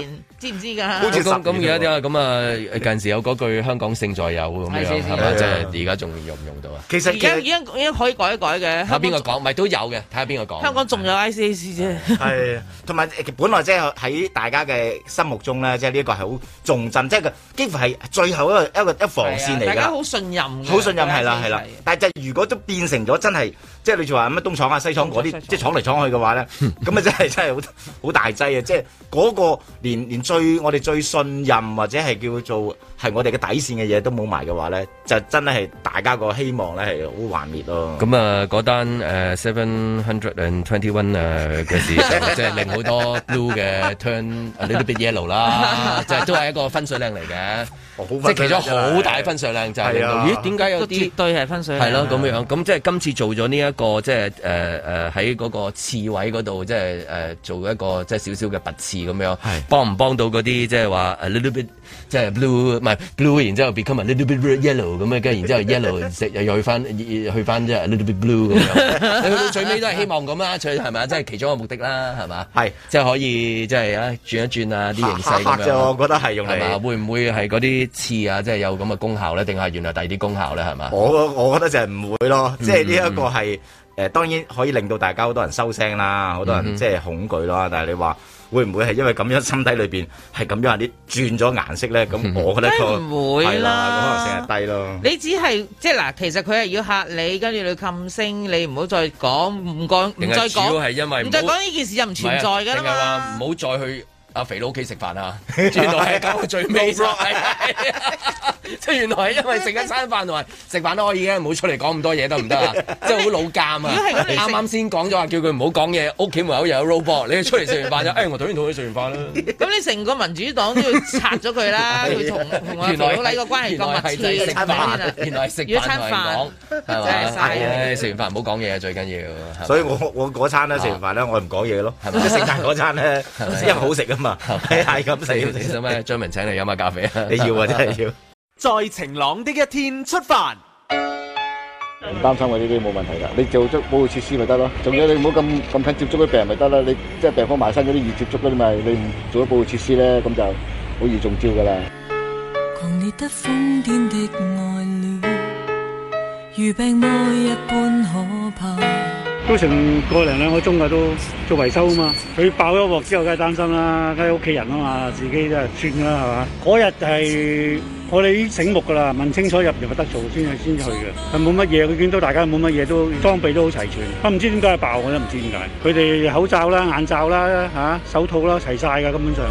知唔知㗎？ 好似咁咁而家點啊？咁啊近時有嗰句香港勝在有咁樣係咪？即係而家仲用唔用到啊？ 其實而家已經已經可以改一改嘅。 睇下邊個講，咪都有嘅。睇下邊個講。 香港仲有 I C A C 啫。 係，同埋本來即係喺大家嘅心目中咧，即係呢一個係好重鎮，即係幾乎係最後一個一個一防線嚟㗎。 大家好信任， 好信任係啦係啦。但係就如果都變成咗真係，即係你就話乜東廠啊西廠嗰啲，即係闖嚟闖去嘅話咧，咁啊真係真係好好大劑啊！即係嗰個連連最我哋最信任或者係叫做係我哋嘅底線嘅嘢都冇埋嘅話咧，就真係大家個希望咧係好幻滅咯。 咁啊嗰單誒 seven hundred and twenty one 誒嘅事，即係令好多 blue 嘅 turn a little bit yellow 啦，就係都係一個分水嶺嚟嘅。即係其中好大分水嶺就係令到，咦？點解有啲絕對係分水嶺？ 係咯咁樣，咁即係今次做咗呢一個即係誒誒喺嗰個刺位嗰度，即係誒做一個即係少少嘅拔刺咁樣，幫唔幫到嗰啲即係話 a little bit 即係 blue 唔係 blue， 然之後 become a little bit yellow 咁樣，跟住然之後 yellow 又去翻去翻即係 a little bit blue 咁樣。你去到最尾都係希望咁啦，最係咪？即係其中一個目的啦，係嘛？係即係可以即係啊轉一轉啊啲形勢咁樣。 我覺得係用嚟會唔會係嗰啲刺啊，即係有咁嘅功效咧，定係原來第二啲功效咧，係嘛？ 我我覺得就係唔會咯，即係呢一個係誒、呃，當然可以令到大家好多人收聲啦，好多人即係恐懼啦。但係你話會唔會係因為咁樣心底裏邊係咁樣啲轉咗顏色咧？咁我覺得個唔會啦， 可能性係低咯。 你只係即係嗱，其實佢係要嚇你，跟住你噤聲，你唔好再講，唔講，唔再講。主要係因為唔再講呢件事就唔存在㗎啦嘛。定係話唔好再去阿肥佬屋企食飯啊！原來係搞到最尾，即係原來係因為食一餐飯同埋食飯都可以嘅，唔好出嚟講咁多嘢得唔得啊？即係好老監啊！啱啱先講咗話叫佢唔好講嘢，屋企門口又有 robot， 你出嚟食完飯就誒，我頭先同佢食完飯啦。咁你成個民主黨都要拆咗佢啦！佢同同阿肥佬黎個關係咁密切，食飯原來食飯餐飯係嘛？誒食完飯唔好講嘢最緊要。 所以我我嗰餐咧食完飯咧，我唔講嘢咯。即係聖誕嗰餐咧，因為好食啊嘛。係係咁食， 你想咩？張文請你飲下咖啡啊！ 你要啊，真係要。 在晴朗的一天出發， 唔擔心我呢啲冇問題㗎。你做足保護設施咪得咯。仲有你唔好咁咁近接觸啲病人咪得啦。你即係病房埋身嗰啲易接觸嗰啲咪，你唔做咗保護設施咧，咁就好易中招㗎啦。狂烈得瘋癲的愛戀，如病魔一般可怕。 都成個零兩個鐘㗎，都做維修啊嘛。佢爆咗鑊之後，梗係擔心啦，梗係屋企人啊嘛，自己真係算啦，係嘛？嗰日係我哋已經醒目㗎啦，問清楚入入得做先去先去嘅。佢冇乜嘢，佢見到大家冇乜嘢，都裝備都好齊全。不唔知點解爆，我都唔知點解。佢哋口罩啦、眼罩啦、嚇、啊、手套啦，齊晒㗎，根本上。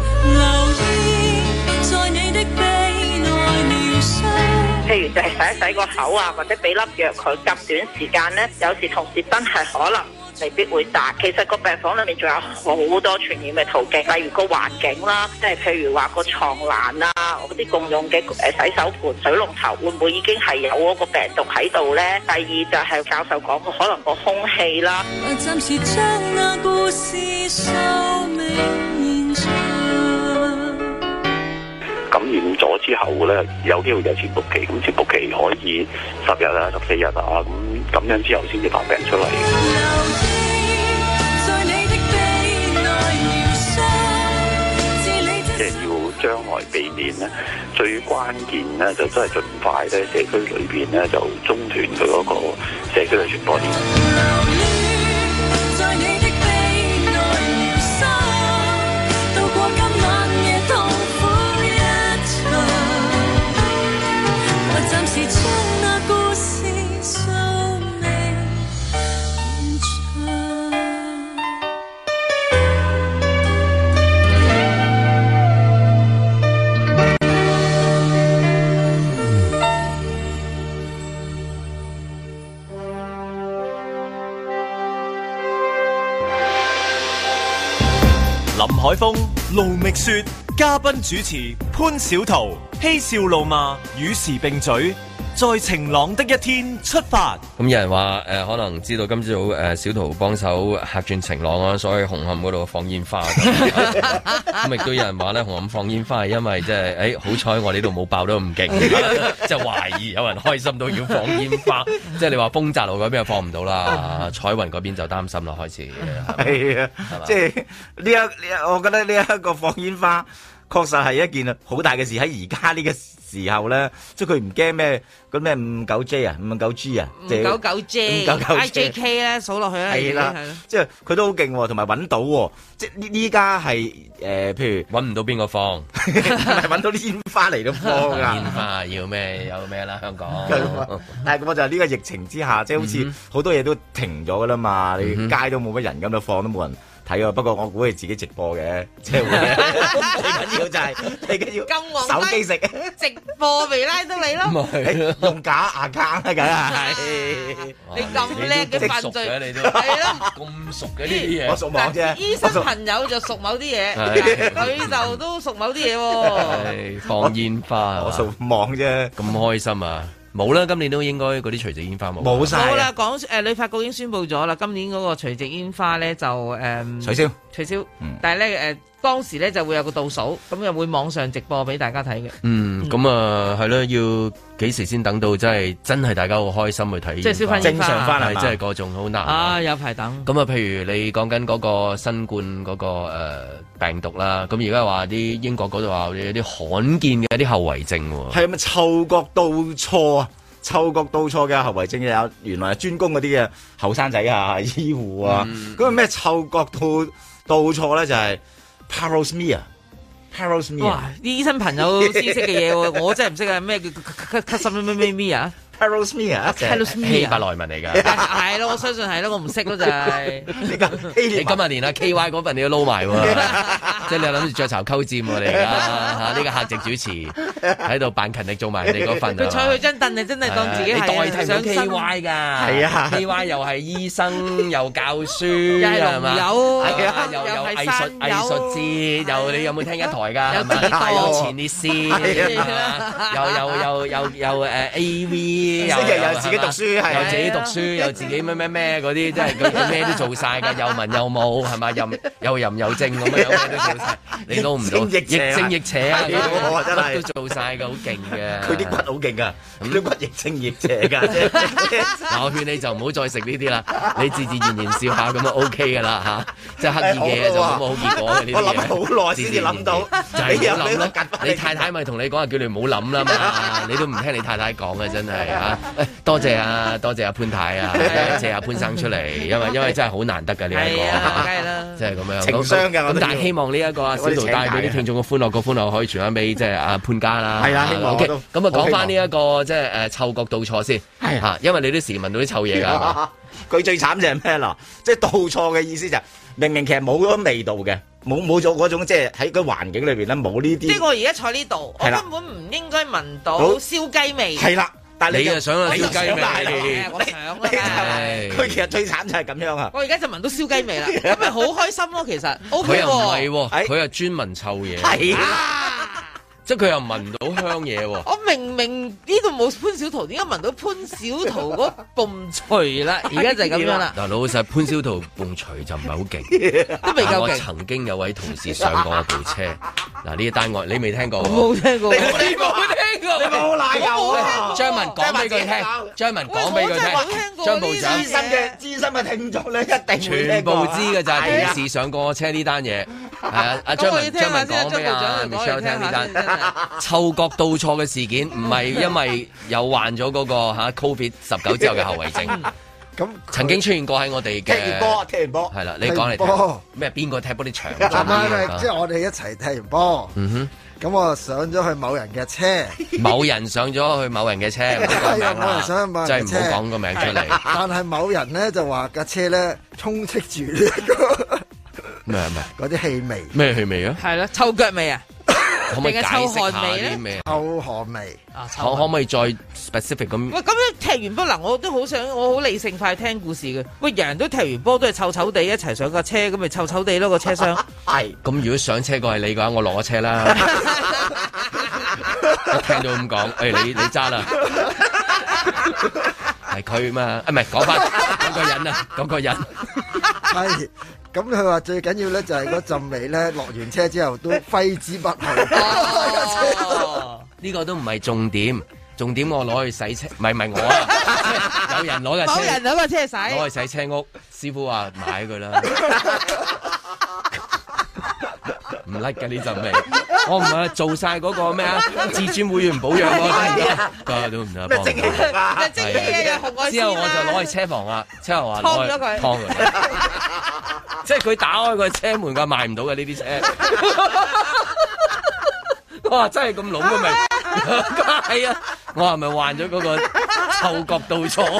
譬如就係洗一洗個口啊，或者俾粒藥佢，隔短時間咧，有時同事真係可能未必會打。其實個病房裏面仲有好多傳染嘅途徑，例如個環境啦，即係譬如話個床欄啊，嗰啲共用嘅誒洗手盆、水龍頭，會唔會已經係有嗰個病毒喺度咧？第二就係教授講過，可能個空氣啦。暫時將那故事收尾現場。 感染咗之後咧，有機會有潛伏期，咁潛伏期可以十日啊、十四日啊，咁咁樣之後先至發病出嚟。即係要將來避免咧，最關鍵咧就真係盡快咧，社區裏邊咧就中斷佢嗰個社區嘅傳播鏈。 林海峰、盧覓雪，嘉賓主持潘小桃，嬉笑怒罵，與時並舉，在晴朗的一天出發。 咁有人話誒、呃，可能知道今朝早誒小桃幫手客轉晴朗啊，所以紅磡嗰度放煙花。咁亦都有人話咧，紅磡放煙花係因為即係誒好彩我呢度冇爆得咁勁，即係懷疑有人開心到要放煙花。即係你話豐澤路嗰邊又放唔到啦，彩雲嗰邊就擔心啦，開始。 係啊，即係呢一呢一，我覺得呢一個放煙花。 確實係一件好大嘅事。喺而家呢個時候咧，即係佢唔驚咩嗰咩五九 J 啊，五九 G 啊， 五九九 J、I J K 咧，數落去啦， 係啦，即係佢都好勁喎，同埋揾到喎，即係呢呢家係誒，譬如揾唔到邊個放， 係揾到啲煙花嚟到放啊！ 煙花要咩有咩啦，香港。 但係咁我就係呢個疫情之下，即係好似好多嘢都停咗噶啦嘛，你街都冇乜人咁就放都冇人睇啊！不過我估係自己直播嘅，即係會最緊要就係最緊要手機食直播未拉到你咯， 用假牙卡啊，梗係你咁叻嘅犯罪， 你都係咯， 咁熟嘅呢啲嘢， 我熟網啫。 醫生朋友就熟某啲嘢，佢就都熟某啲嘢喎。 放煙花， 我熟網啫， 咁開心啊！冇啦，今年都應該嗰啲除夕煙花冇。 冇晒。 冇啦，講誒旅發局已經宣布咗啦，今年嗰個除夕煙花咧就誒、嗯、 取消， 取消。嗯、但係咧誒當時咧就會有個倒數，咁又會網上直播俾大家睇嘅。嗯， 咁啊係咯，要幾時先等到真係真係大家好開心去睇？ 即係消費正常翻係，即係嗰種好難啊！有排等。 咁啊，譬如你講緊嗰個新冠嗰、嗰個、呃、病毒啦，咁而家話啲英國嗰度話有啲罕見嘅一啲後遺症喎。 係咪嗅覺倒錯啊？嗅覺倒錯嘅後遺症有，原來係專攻嗰啲嘅後生仔啊、醫護啊。咁個咩嗅覺倒倒錯咧？就係 parosmia。parosmia。 哇！啲醫生朋友知識嘅嘢喎，我真係唔識啊！咩叫咳咳嗽咩咩咩咩啊？ Parosmia，希伯來文嚟㗎， 係咯，我相信係咯，我唔識咯就係。 你今日連阿 K Y 嗰份你都撈埋喎，即係你諗住雀巢溝佔喎你而家嚇呢個客席主持喺度扮勤力做埋你嗰份。 佢坐佢張凳，你真係當自己係代替咗 K Y 㗎，係啊 K Y 又係醫生又教書， 又係龍友， 係啊，又有藝術藝術節，又你有冇聽一台㗎？有前列腺，又又又又又誒 A V。又又自己讀書，係又自己讀書，又自己咩咩咩嗰啲，即係佢咩都做晒㗎，又文又武，係咪？又又淫又正咁樣，咩都做晒，你撈唔到，亦正亦邪啊！真係都做晒㗎，好勁嘅。 佢啲骨好勁㗎，啲骨亦正亦邪㗎。 嗱，我勸你就唔好再食呢啲啦，你自自然然笑下咁就 OK 㗎啦嚇，即係刻意嘅就冇乜好結果嘅呢啲嘢。 我諗好耐先至諗到， 就係唔好諗咯。你太太咪同你講話，叫你唔好諗啦嘛，你都唔聽你太太講嘅，真係。啊！多謝啊，多謝阿潘太啊，謝阿潘生出嚟，因為因為真係好難得㗎呢一個， 梗係啦， 即係咁樣情商㗎。 咁但係希望呢一個啊小圖帶俾啲聽眾嘅歡樂，個歡樂可以傳翻俾即係阿潘家啦。 係啊，希望。 OK，咁啊講翻呢一個即係誒嗅覺倒錯先，係嚇，因為你啲時聞到啲臭嘢㗎。 佢最慘就係咩啦？即係倒錯嘅意思就係明明其實冇嗰味道嘅。冇冇咗嗰種即係喺個環境裏邊咧冇呢啲。 即係我而家坐呢度，我根本唔應該聞到燒雞味。 係啦。但係你又想啊燒雞味？ 我想啊！ 佢其實最慘就係咁樣啊！ 我而家就聞到燒雞味啦，咁咪好開心咯！其實 O K 喎。 佢又唔係喎，佢又專聞臭嘢。係啊！即係佢又聞到香嘢喎。我明明呢度冇潘小桃，點解聞到潘小桃嗰泵槌啦？而家就係咁樣啦。 嗱，老實潘小桃泵槌就唔係好勁， 都未夠勁。 我曾經有位同事上過我部車，嗱呢一單案你未聽過？ 冇聽過。 你冇聽過？你冇奶油啊！ 張文講俾佢聽，張文講俾佢聽，張部長資深嘅資深嘅聽眾咧，一定全部知嘅就係同事上過我車呢單嘢。係啊，阿張文張文講俾阿 Michelle 聽呢單嗅覺倒錯嘅事件，唔係因為有患咗嗰個嚇 Covid 十九之後嘅後遺症。咁曾經出現過喺我哋嘅踢完波，踢完波係啦，你講嚟聽咩？邊個踢波啲長？ 唔係，即係我哋一齊踢完波。嗯哼。咁我上咗去某人嘅車， 某人上咗去某人嘅車， 係啊，某人上去某人嘅車， 真係唔好講個名出嚟。 但係某人咧就話架車咧充斥住呢個咩咩嗰啲氣味， 咩氣味啊？ 係啦，臭腳味啊！ 可唔可以解釋下啲咩？ 臭汗味啊！ 可可唔可以再 specific 咁？ 喂，咁樣踢完波嗱，我都好想，我好理性化聽故事嘅。喂，人人都踢完波都係臭臭地一齊上架車，咁咪臭臭地咯個車廂。 係。咁如果上車個係你嘅話，我落咗車啦。一聽到咁講，誒你你揸啦，係佢嘛？啊唔係講翻嗰個人啊，嗰個人係。咁佢話最緊要咧就係嗰陣味咧，落完車之後都揮之不去。 哦，呢個都唔係重點，重點我攞去洗車，唔係唔係我啊，有人攞架車， 冇人攞架車洗， 攞去洗車屋，師傅話買佢啦。 唔甩嘅呢陣味。我唔係做晒嗰個咩啊？至尊會員保養嗰啲，都唔得幫。 蒸汽啊！蒸汽啊！紅外線啊！ 之後我就攞去車房啦，車房話攞去劏咗佢， 劏佢。即係佢打開個車門，佢賣唔到嘅呢啲車。我話真係咁濃嘅味，係啊！我係咪患咗嗰個嗅覺到錯？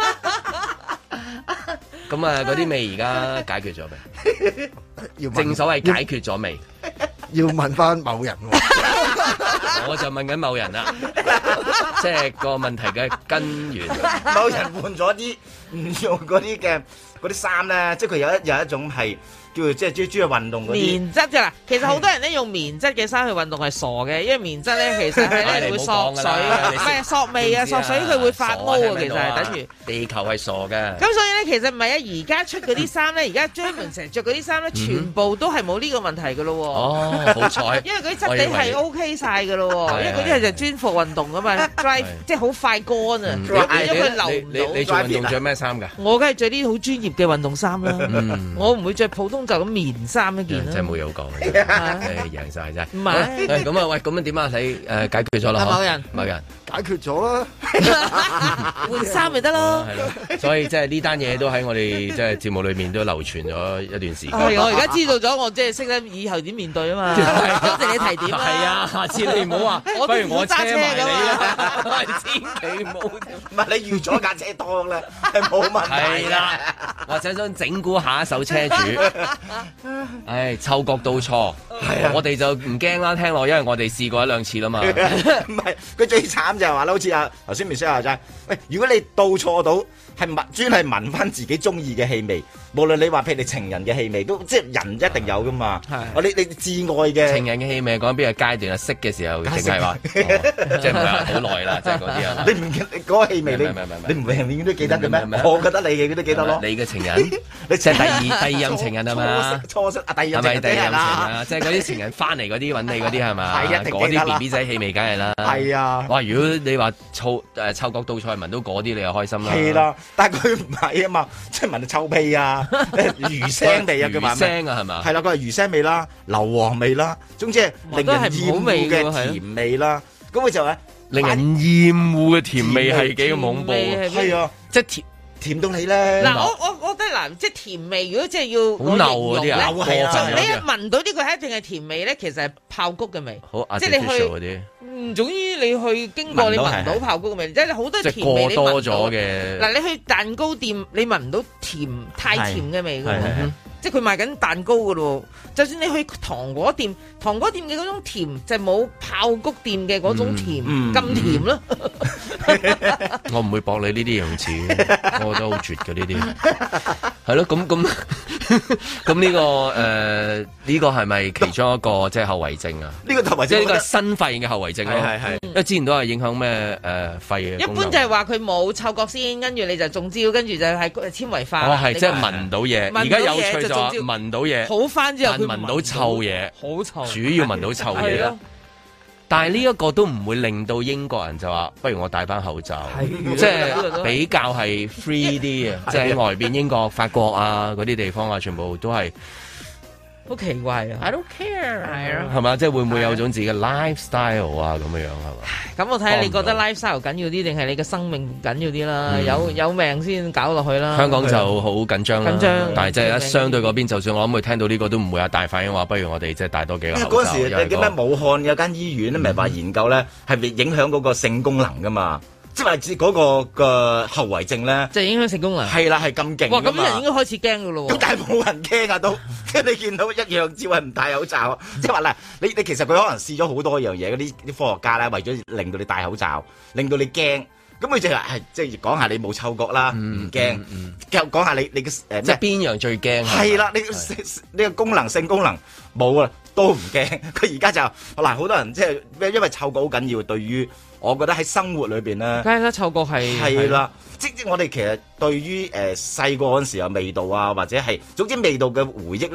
咁啊，嗰啲味而家解決咗未？正所謂解決咗未？ 要問翻某人喎， 我就問緊某人啦，即係個問題嘅根源。 某人換咗啲唔用嗰啲嘅嗰啲衫咧，即係佢有一有一種係。叫即係專專去運動嗰啲棉質㗎啦，其實好多人咧用棉質嘅衫去運動係傻嘅，因為棉質咧其實係咧會索水，唔係索味啊，索水佢會發毛啊，其實係等於地球係傻嘅。 咁所以咧，其實唔係啊，而家出嗰啲衫咧，而家專門成日着嗰啲衫咧，全部都係冇呢個問題㗎咯喎。 哦，好彩， 因為嗰啲質地係 OK 晒㗎咯喎，因為嗰啲係就專服運動㗎嘛 ，dry 即係好快乾啊，因為佢流唔到。 你做運動着咩衫㗎？ 我梗係着啲好專業嘅運動衫啦，我唔會着普通就咁棉衫一件啦， 真係冇有講，誒贏晒真係。 唔係， 咁啊喂，咁樣點啊？你誒解決咗啦？ 某人， 某人解決咗啦， 換衫咪得咯。 係咯，所以即係呢單嘢都喺我哋即係節目裏面都流傳咗一段時間。 係我而家知道咗，我即係識得以後點面對啊嘛。多謝你提點啊。 係啊，下次你唔好話，不如我車埋你啦，千祈冇。 唔係你預咗架車當咧，係冇問題。 係啦，或者想整蠱下一手車主。唉，嗅覺到錯，係啊，我哋就唔驚啦，聽落，因為我哋試過一兩次啦嘛。 唔係，佢最慘就係話咧，好似啊頭先 Michelle 話齋，喂，如果你到錯到係聞專係聞翻自己中意嘅氣味，無論你話譬如你情人嘅氣味，都即係人一定有噶嘛。係，我你你至愛嘅情人嘅氣味講邊個階段啊？識嘅時候定係話，即係唔係話好耐啦？即係嗰啲啊？你唔嗰個氣味你你唔永遠都記得嘅咩？我覺得你嘅都記得咯。 你嘅情人，你即係第二第二任情人係嘛？ 初識啊，第二任係咪第二任情啊？即係嗰啲情人翻嚟嗰啲揾你嗰啲係嘛？係啊，嗰啲 B B 仔氣味梗係啦。係啊，哇！如果你話嗅誒嗅覺到菜聞到嗰啲，你又開心啦。 係啦，但係佢唔係啊嘛，即係聞到臭屁啊、魚腥味啊，佢話魚腥啊係嘛？ 係啦，佢係魚腥味啦、硫磺味啦，總之係令人厭惡嘅甜味啦。咁佢就係令人厭惡嘅甜味係幾咁恐怖啊！ 係啊，即係甜。甜到你咧！ 嗱，我我我覺得嗱，即係甜味，如果即係要好流嗰啲啊， 係啊，你一聞到呢個係一定係甜味咧，其實係爆谷嘅味。 好， 即係你去，嗯，總之你去經過你聞到爆谷嘅味，即係好多甜味你聞到。過多咗嘅。嗱，你去蛋糕店，你聞唔到甜太甜嘅味㗎。即係佢賣緊蛋糕㗎咯，就算你去糖果店，糖果店嘅嗰種甜就冇爆谷店嘅嗰種甜咁甜咯。 我唔會駁你呢啲用詞，我覺得好絕嘅呢啲。係咯，咁咁咁呢個誒呢個係咪其中一個即係後遺症啊？ 呢個後遺症即係呢個新肺嘅後遺症咯。係係，因為之前都係影響咩誒肺嘅。 一般就係話佢冇嗅覺先，跟住你就中招，跟住就係纖維化。 哦，係即係聞到嘢。而家有趣就話聞到嘢， 好翻之後佢聞到臭嘢， 好臭。 主要聞到臭嘢啦。但係呢一個都唔會令到英國人就話，不如我戴翻口罩，即係比較係 free 啲嘅，即係喺外邊英國、法國啊嗰啲地方啊，全部都係好奇怪啊 ！I don't care，係啊，係嘛？即係會唔會有種自己嘅 lifestyle 啊咁樣樣係嘛？ 咁我睇下你覺得 lifestyle 緊要啲，定係你嘅生命緊要啲啦？有有命先搞落去啦。 香港就好緊張啦， 緊張， 但係即係一相對嗰邊，就算我諗佢聽到呢個都唔會有大反應，話不如我哋即係戴多幾個口罩。 嗰陣時你記唔記得武漢有間醫院咧，咪話研究咧係咪影響嗰個性功能噶嘛？即係話嗰個嘅後遺症咧， 就影響性功能。 係啦，係咁勁。 哇！咁人應該開始驚噶咯喎。 咁但係冇人驚啊都，即係你見到一樣只係唔戴口罩。即係話嗱，你你其實佢可能試咗好多樣嘢，嗰啲啲科學家咧，為咗令到你戴口罩，令到你驚。咁佢就係即係講下你冇嗅覺啦，唔驚。又講下你你嘅誒， 即係邊樣最驚？ 係啦，你呢個功能性功能冇啊，都唔驚。佢而家就嗱，好多人即係因為嗅覺好緊要，對於。我覺得喺生活裏邊咧， 梗係啦，嗅覺係係啦，即即我哋其實對於誒細個嗰陣時候味道啊，或者係總之味道嘅回憶咧，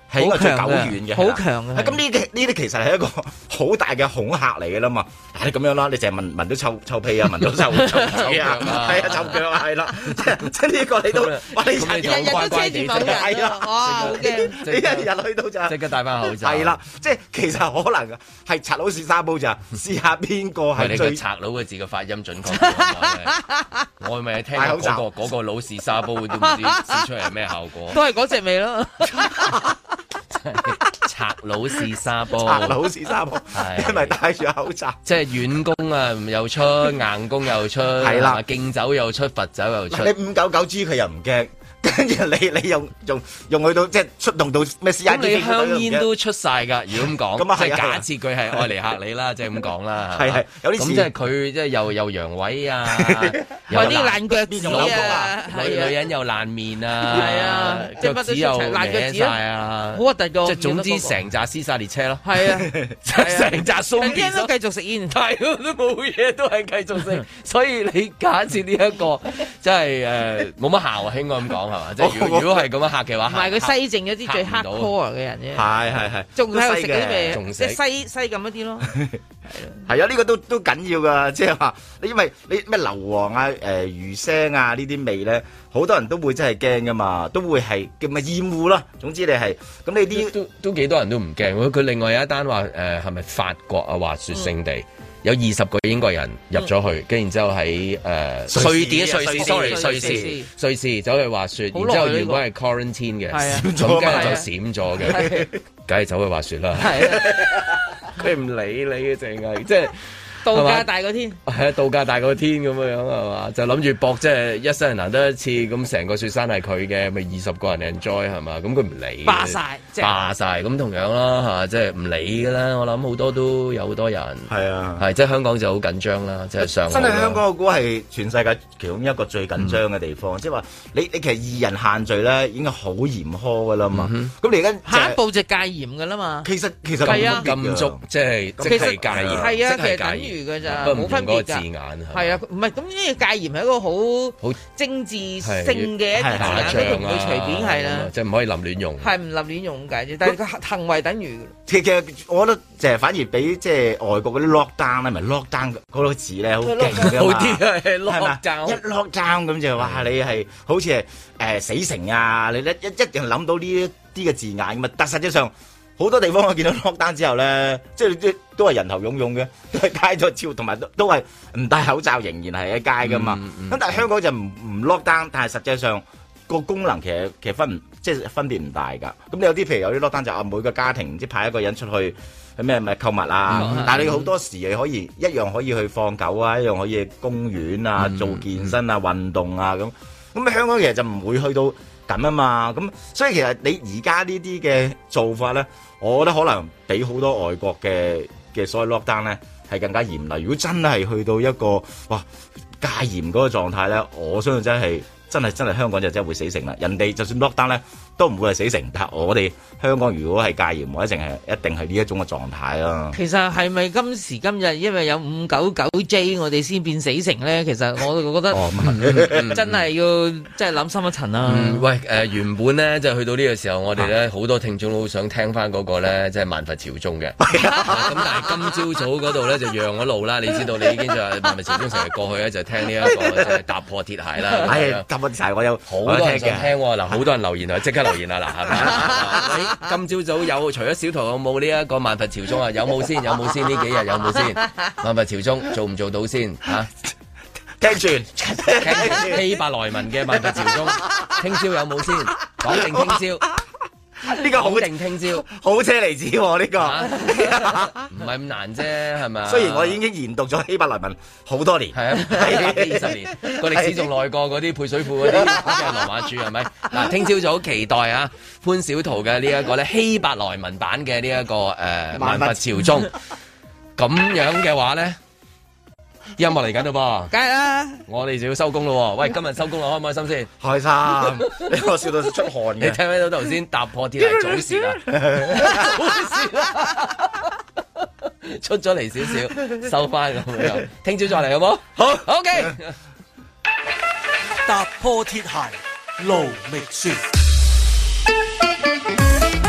係應該最久遠嘅， 好強嘅。 咁呢啲呢啲其實係一個好大嘅恐嚇嚟嘅啦嘛。你咁樣啦，你淨係聞聞到臭臭屁啊，聞到臭臭腳啊，係啊，臭腳啊，係啦，即係即係呢個你都，哇！你日日都車住某人，係啊，哇！好驚，你一日去到就即刻戴翻口罩。 係啦，即係其實可能係賊佬試沙煲咋，試下邊個係最賊佬嘅字嘅發音準確。我咪聽嗰個嗰個老試沙煲都唔知試出嚟係咩效果。 都係嗰隻味咯。 賊佬試沙煲， 賊佬試沙煲，係咪戴住口罩？ 即係軟功啊，又出硬功又出，係啦，敬酒又出，罰酒又出。 你五九九 G 佢又唔驚。跟住你你用用用去到即係出動到咩 C I D？ 咁你香煙都出晒㗎，如果咁講，咁啊係假設佢係愛嚟嚇你啦，即係咁講啦。 係係有啲咁即係佢即係又又陽痿啊， 有啲爛腳趾啊， 女女人又爛面啊， 係啊， 腳趾又爛腳趾啊， 好核突㗎。 即係總之成扎屍殺列車咯。 係啊， 成扎鬆片都繼續食煙， 係都冇嘢，都係繼續食。所以你假設呢一個即係誒冇乜效啊，應該咁講係嘛？即係如果如果係咁樣嚇嘅話， 唔係佢西淨咗啲最 hardcore 嘅人啫。 係係係， 仲喺度食嗰啲味， 仲即係西西咁一啲咯。 係啊，呢個都都緊要噶，即係話你因為你咩硫磺啊、誒魚腥啊呢啲味咧，好多人都會真係驚噶嘛，都會係叫咪厭惡咯。總之你係咁，你啲都都幾多人都唔驚。佢另外有一單話誒係咪法國啊滑雪勝地？有二十個英國人入咗去，跟然之後喺誒瑞典、瑞士，sorry，瑞士，瑞士走去滑雪，然之後原本係 quarantine 嘅，咁跟住就閃咗嘅，梗係走去滑雪啦。佢唔理你嘅，淨係即係。 度假大過天， 係啊！度假大過天咁樣樣係嘛？就諗住搏，即係一生人難得一次，咁成個雪山係佢嘅，咪二十個人 enjoy 係嘛？咁佢唔理， 霸晒， 霸晒咁同樣啦嚇，即係唔理㗎啦。我諗好多都有好多人係啊， 係即係香港就好緊張啦，即係上真係香港我估係全世界其中一個最緊張嘅地方，即係話你你其實二人限聚咧已經好嚴苛㗎啦嘛。咁你而家下一步就戒嚴㗎啦嘛。 其實其實係啊， 禁足即係即係戒嚴， 係啊， 即係戒嚴。 㗎咋，冇分別㗎。係啊，唔係咁呢個戒嚴係一個好好政治性嘅一個字眼，都唔會隨便係啦。 即係唔可以臨亂用。 係唔臨亂用咁解啫，但係個行為等於。 其實我覺得就係反而比即係外國嗰啲 lockdown 咧，咪 lockdown 嗰個字咧好勁㗎嘛。 好啲啊，係 lockdown。 一 lockdown 咁就話你係好似係誒死城啊！你一一一定諗到呢一啲嘅字眼咁啊，但實際上。好多地方我見到 lockdown 之後咧，即係都係人頭湧湧嘅，都係街咗照，同埋都都係唔戴口罩，仍然係喺街噶嘛。咁、嗯嗯、但係香港就唔唔 lockdown，但係實際上個功能其實其實分即係分別唔大㗎。咁你有啲譬如有啲 lockdown 就啊每個家庭即係派一個人出去咩咩購物啊，嗯、但係你好多時你可以一樣可以去放狗啊，一樣可以去公園啊、嗯、做健身啊、運動啊咁。咁香港其實就唔會去到咁啊嘛。咁所以其實你而家呢啲嘅做法咧。我覺得可能比好多外國嘅嘅所謂 lockdown 咧係更加嚴厲。如果真係去到一個哇戒嚴嗰個狀態咧，我相信真係真係真係香港就真係會死城啦。人哋就算 lockdown 咧都唔會係死城，但係我哋香港如果係戒嚴，我一定係一定係呢一種嘅狀態啦。 其實係咪今時今日因為有五九九 J 我哋先變死城咧？其實我覺得、哦、真係要真係諗深一層啦、 嗯。喂，誒、呃、原本咧就去到呢個時候，我哋咧好多聽眾都好想聽翻嗰個咧，即係萬佛朝宗嘅。咁但係今朝早嗰度咧就讓咗路啦。你知道你已經就係萬佛朝宗成日過去咧，就聽呢、這、一個即係踏破鐵鞋啦。 係踏破鐵鞋，我有好多人想聽喎。嗱，好多人留言啊，即刻留言啊，嗱，係咪？今朝早有除咗小圖有冇呢一個萬佛朝宗啊？有冇先？有冇先？呢幾日有冇先？萬佛朝宗做唔做到先？嚇、啊？ 聽住， 希伯來文嘅萬佛朝宗，聽朝有冇先？講定聽朝。 呢個好定聽朝， 好車厘子喎呢個， 唔係咁難啫，係咪？ 雖然我已經研讀咗希伯來文好多年， 係啊，百幾二十年，個歷史仲耐過嗰啲配水庫嗰啲嘅羅馬柱，係咪？嗱，聽朝早期待啊，潘小桃嘅呢一個咧希伯來文版嘅呢一個誒萬佛朝宗，咁樣嘅話咧。音樂嚟緊咯噃， 梗係啦！ 我哋就要收工咯。喂，今日收工啦，開唔開心先？ 開心，你我笑到出汗嘅。 你聽唔聽到頭先踏破鐵鞋早泄啊？早泄啊！出咗嚟少少，收翻咁樣。聽朝再嚟好冇？好 ，OK。 踏破鐵鞋路未雪。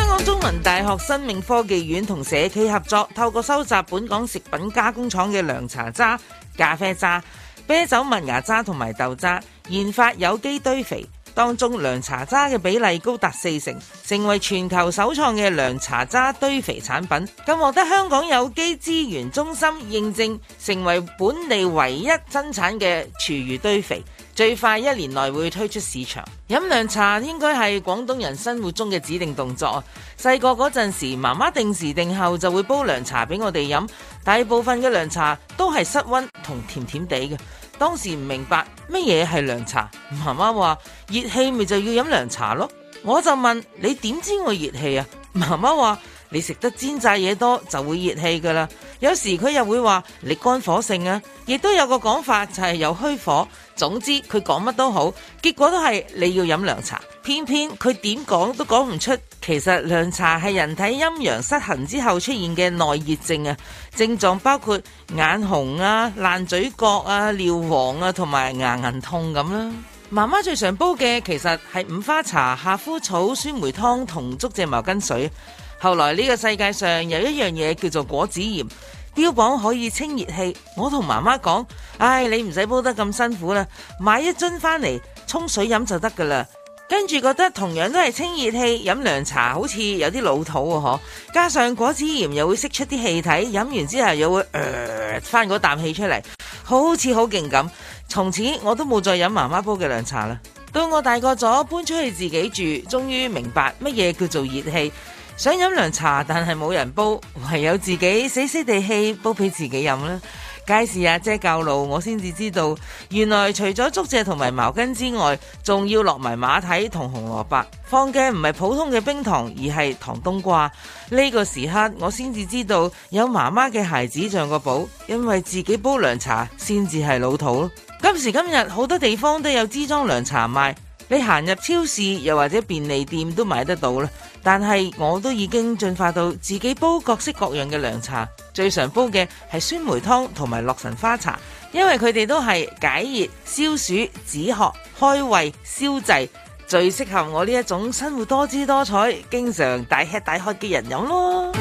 文大學生命科技院同社企合作，透過收集本港食品加工廠嘅涼茶渣、咖啡渣、啤酒麥芽渣同埋豆渣，研發有機堆肥。當中涼茶渣嘅比例高達四成，成為全球首創嘅涼茶渣堆肥產品，更獲得香港有機資源中心認證，成為本地唯一生產嘅廚餘堆肥，最快一年內會推出市場。飲涼茶應該係廣東人生活中嘅指定動作。細個嗰陣時，媽媽定時定候就會煲涼茶俾我哋飲，大部分嘅涼茶都係室溫同甜甜地嘅。當時唔明白乜嘢係涼茶，媽媽話熱氣咪就要飲涼茶咯。我就問你點知我熱氣啊？媽媽話你食得煎炸嘢多就會熱氣噶啦。有時佢又會話你肝火盛啊，亦都有個講法就係有虛火。總之佢講乜都好，結果都係你要飲涼茶。偏偏佢點講都講唔出，其實涼茶係人體陰陽失衡之後出現嘅內熱症啊，症狀包括眼紅啊、爛嘴角啊、尿黃啊同埋牙齦痛咁啦。媽媽最常煲嘅其實係五花茶、夏枯草、酸梅湯同竹蔗茅根水。後來呢個世界上有一樣嘢叫做果子鹽，標榜可以清熱氣。我同媽媽講，唉，你唔使煲得咁辛苦啦，買一樽翻嚟沖水飲就得噶啦。跟住覺得同樣都係清熱氣，飲涼茶好似有啲老土喎，嗬。加上果子鹽又會釋出啲氣體，飲完之後又會呃翻嗰啖氣出嚟，好似好勁咁。從此我都冇再飲媽媽煲嘅涼茶啦。到我大個咗，搬出去自己住，終於明白乜嘢叫做熱氣。想飲涼茶，但係冇人煲，唯有自己死死地氣煲俾自己飲啦。街市阿姐教路，我先至知道，原來除咗竹蔗同埋茅根之外，仲要落埋馬蹄同紅蘿蔔。放嘅唔係普通嘅冰糖，而係糖冬瓜。呢個時刻我先至知道，有媽媽嘅孩子像個寶，因為自己煲涼茶先至係老土咯。今時今日好多地方都有支裝涼茶賣，你行入超市又或者便利店都買得到啦。但係我都已經進化到自己煲各式各樣嘅涼茶，最常煲嘅係酸梅湯同埋洛神花茶，因為佢哋都係解熱、消暑、止渴、開胃、消滯，最適合我呢一種生活多姿多彩、經常大吃大喝嘅人飲咯。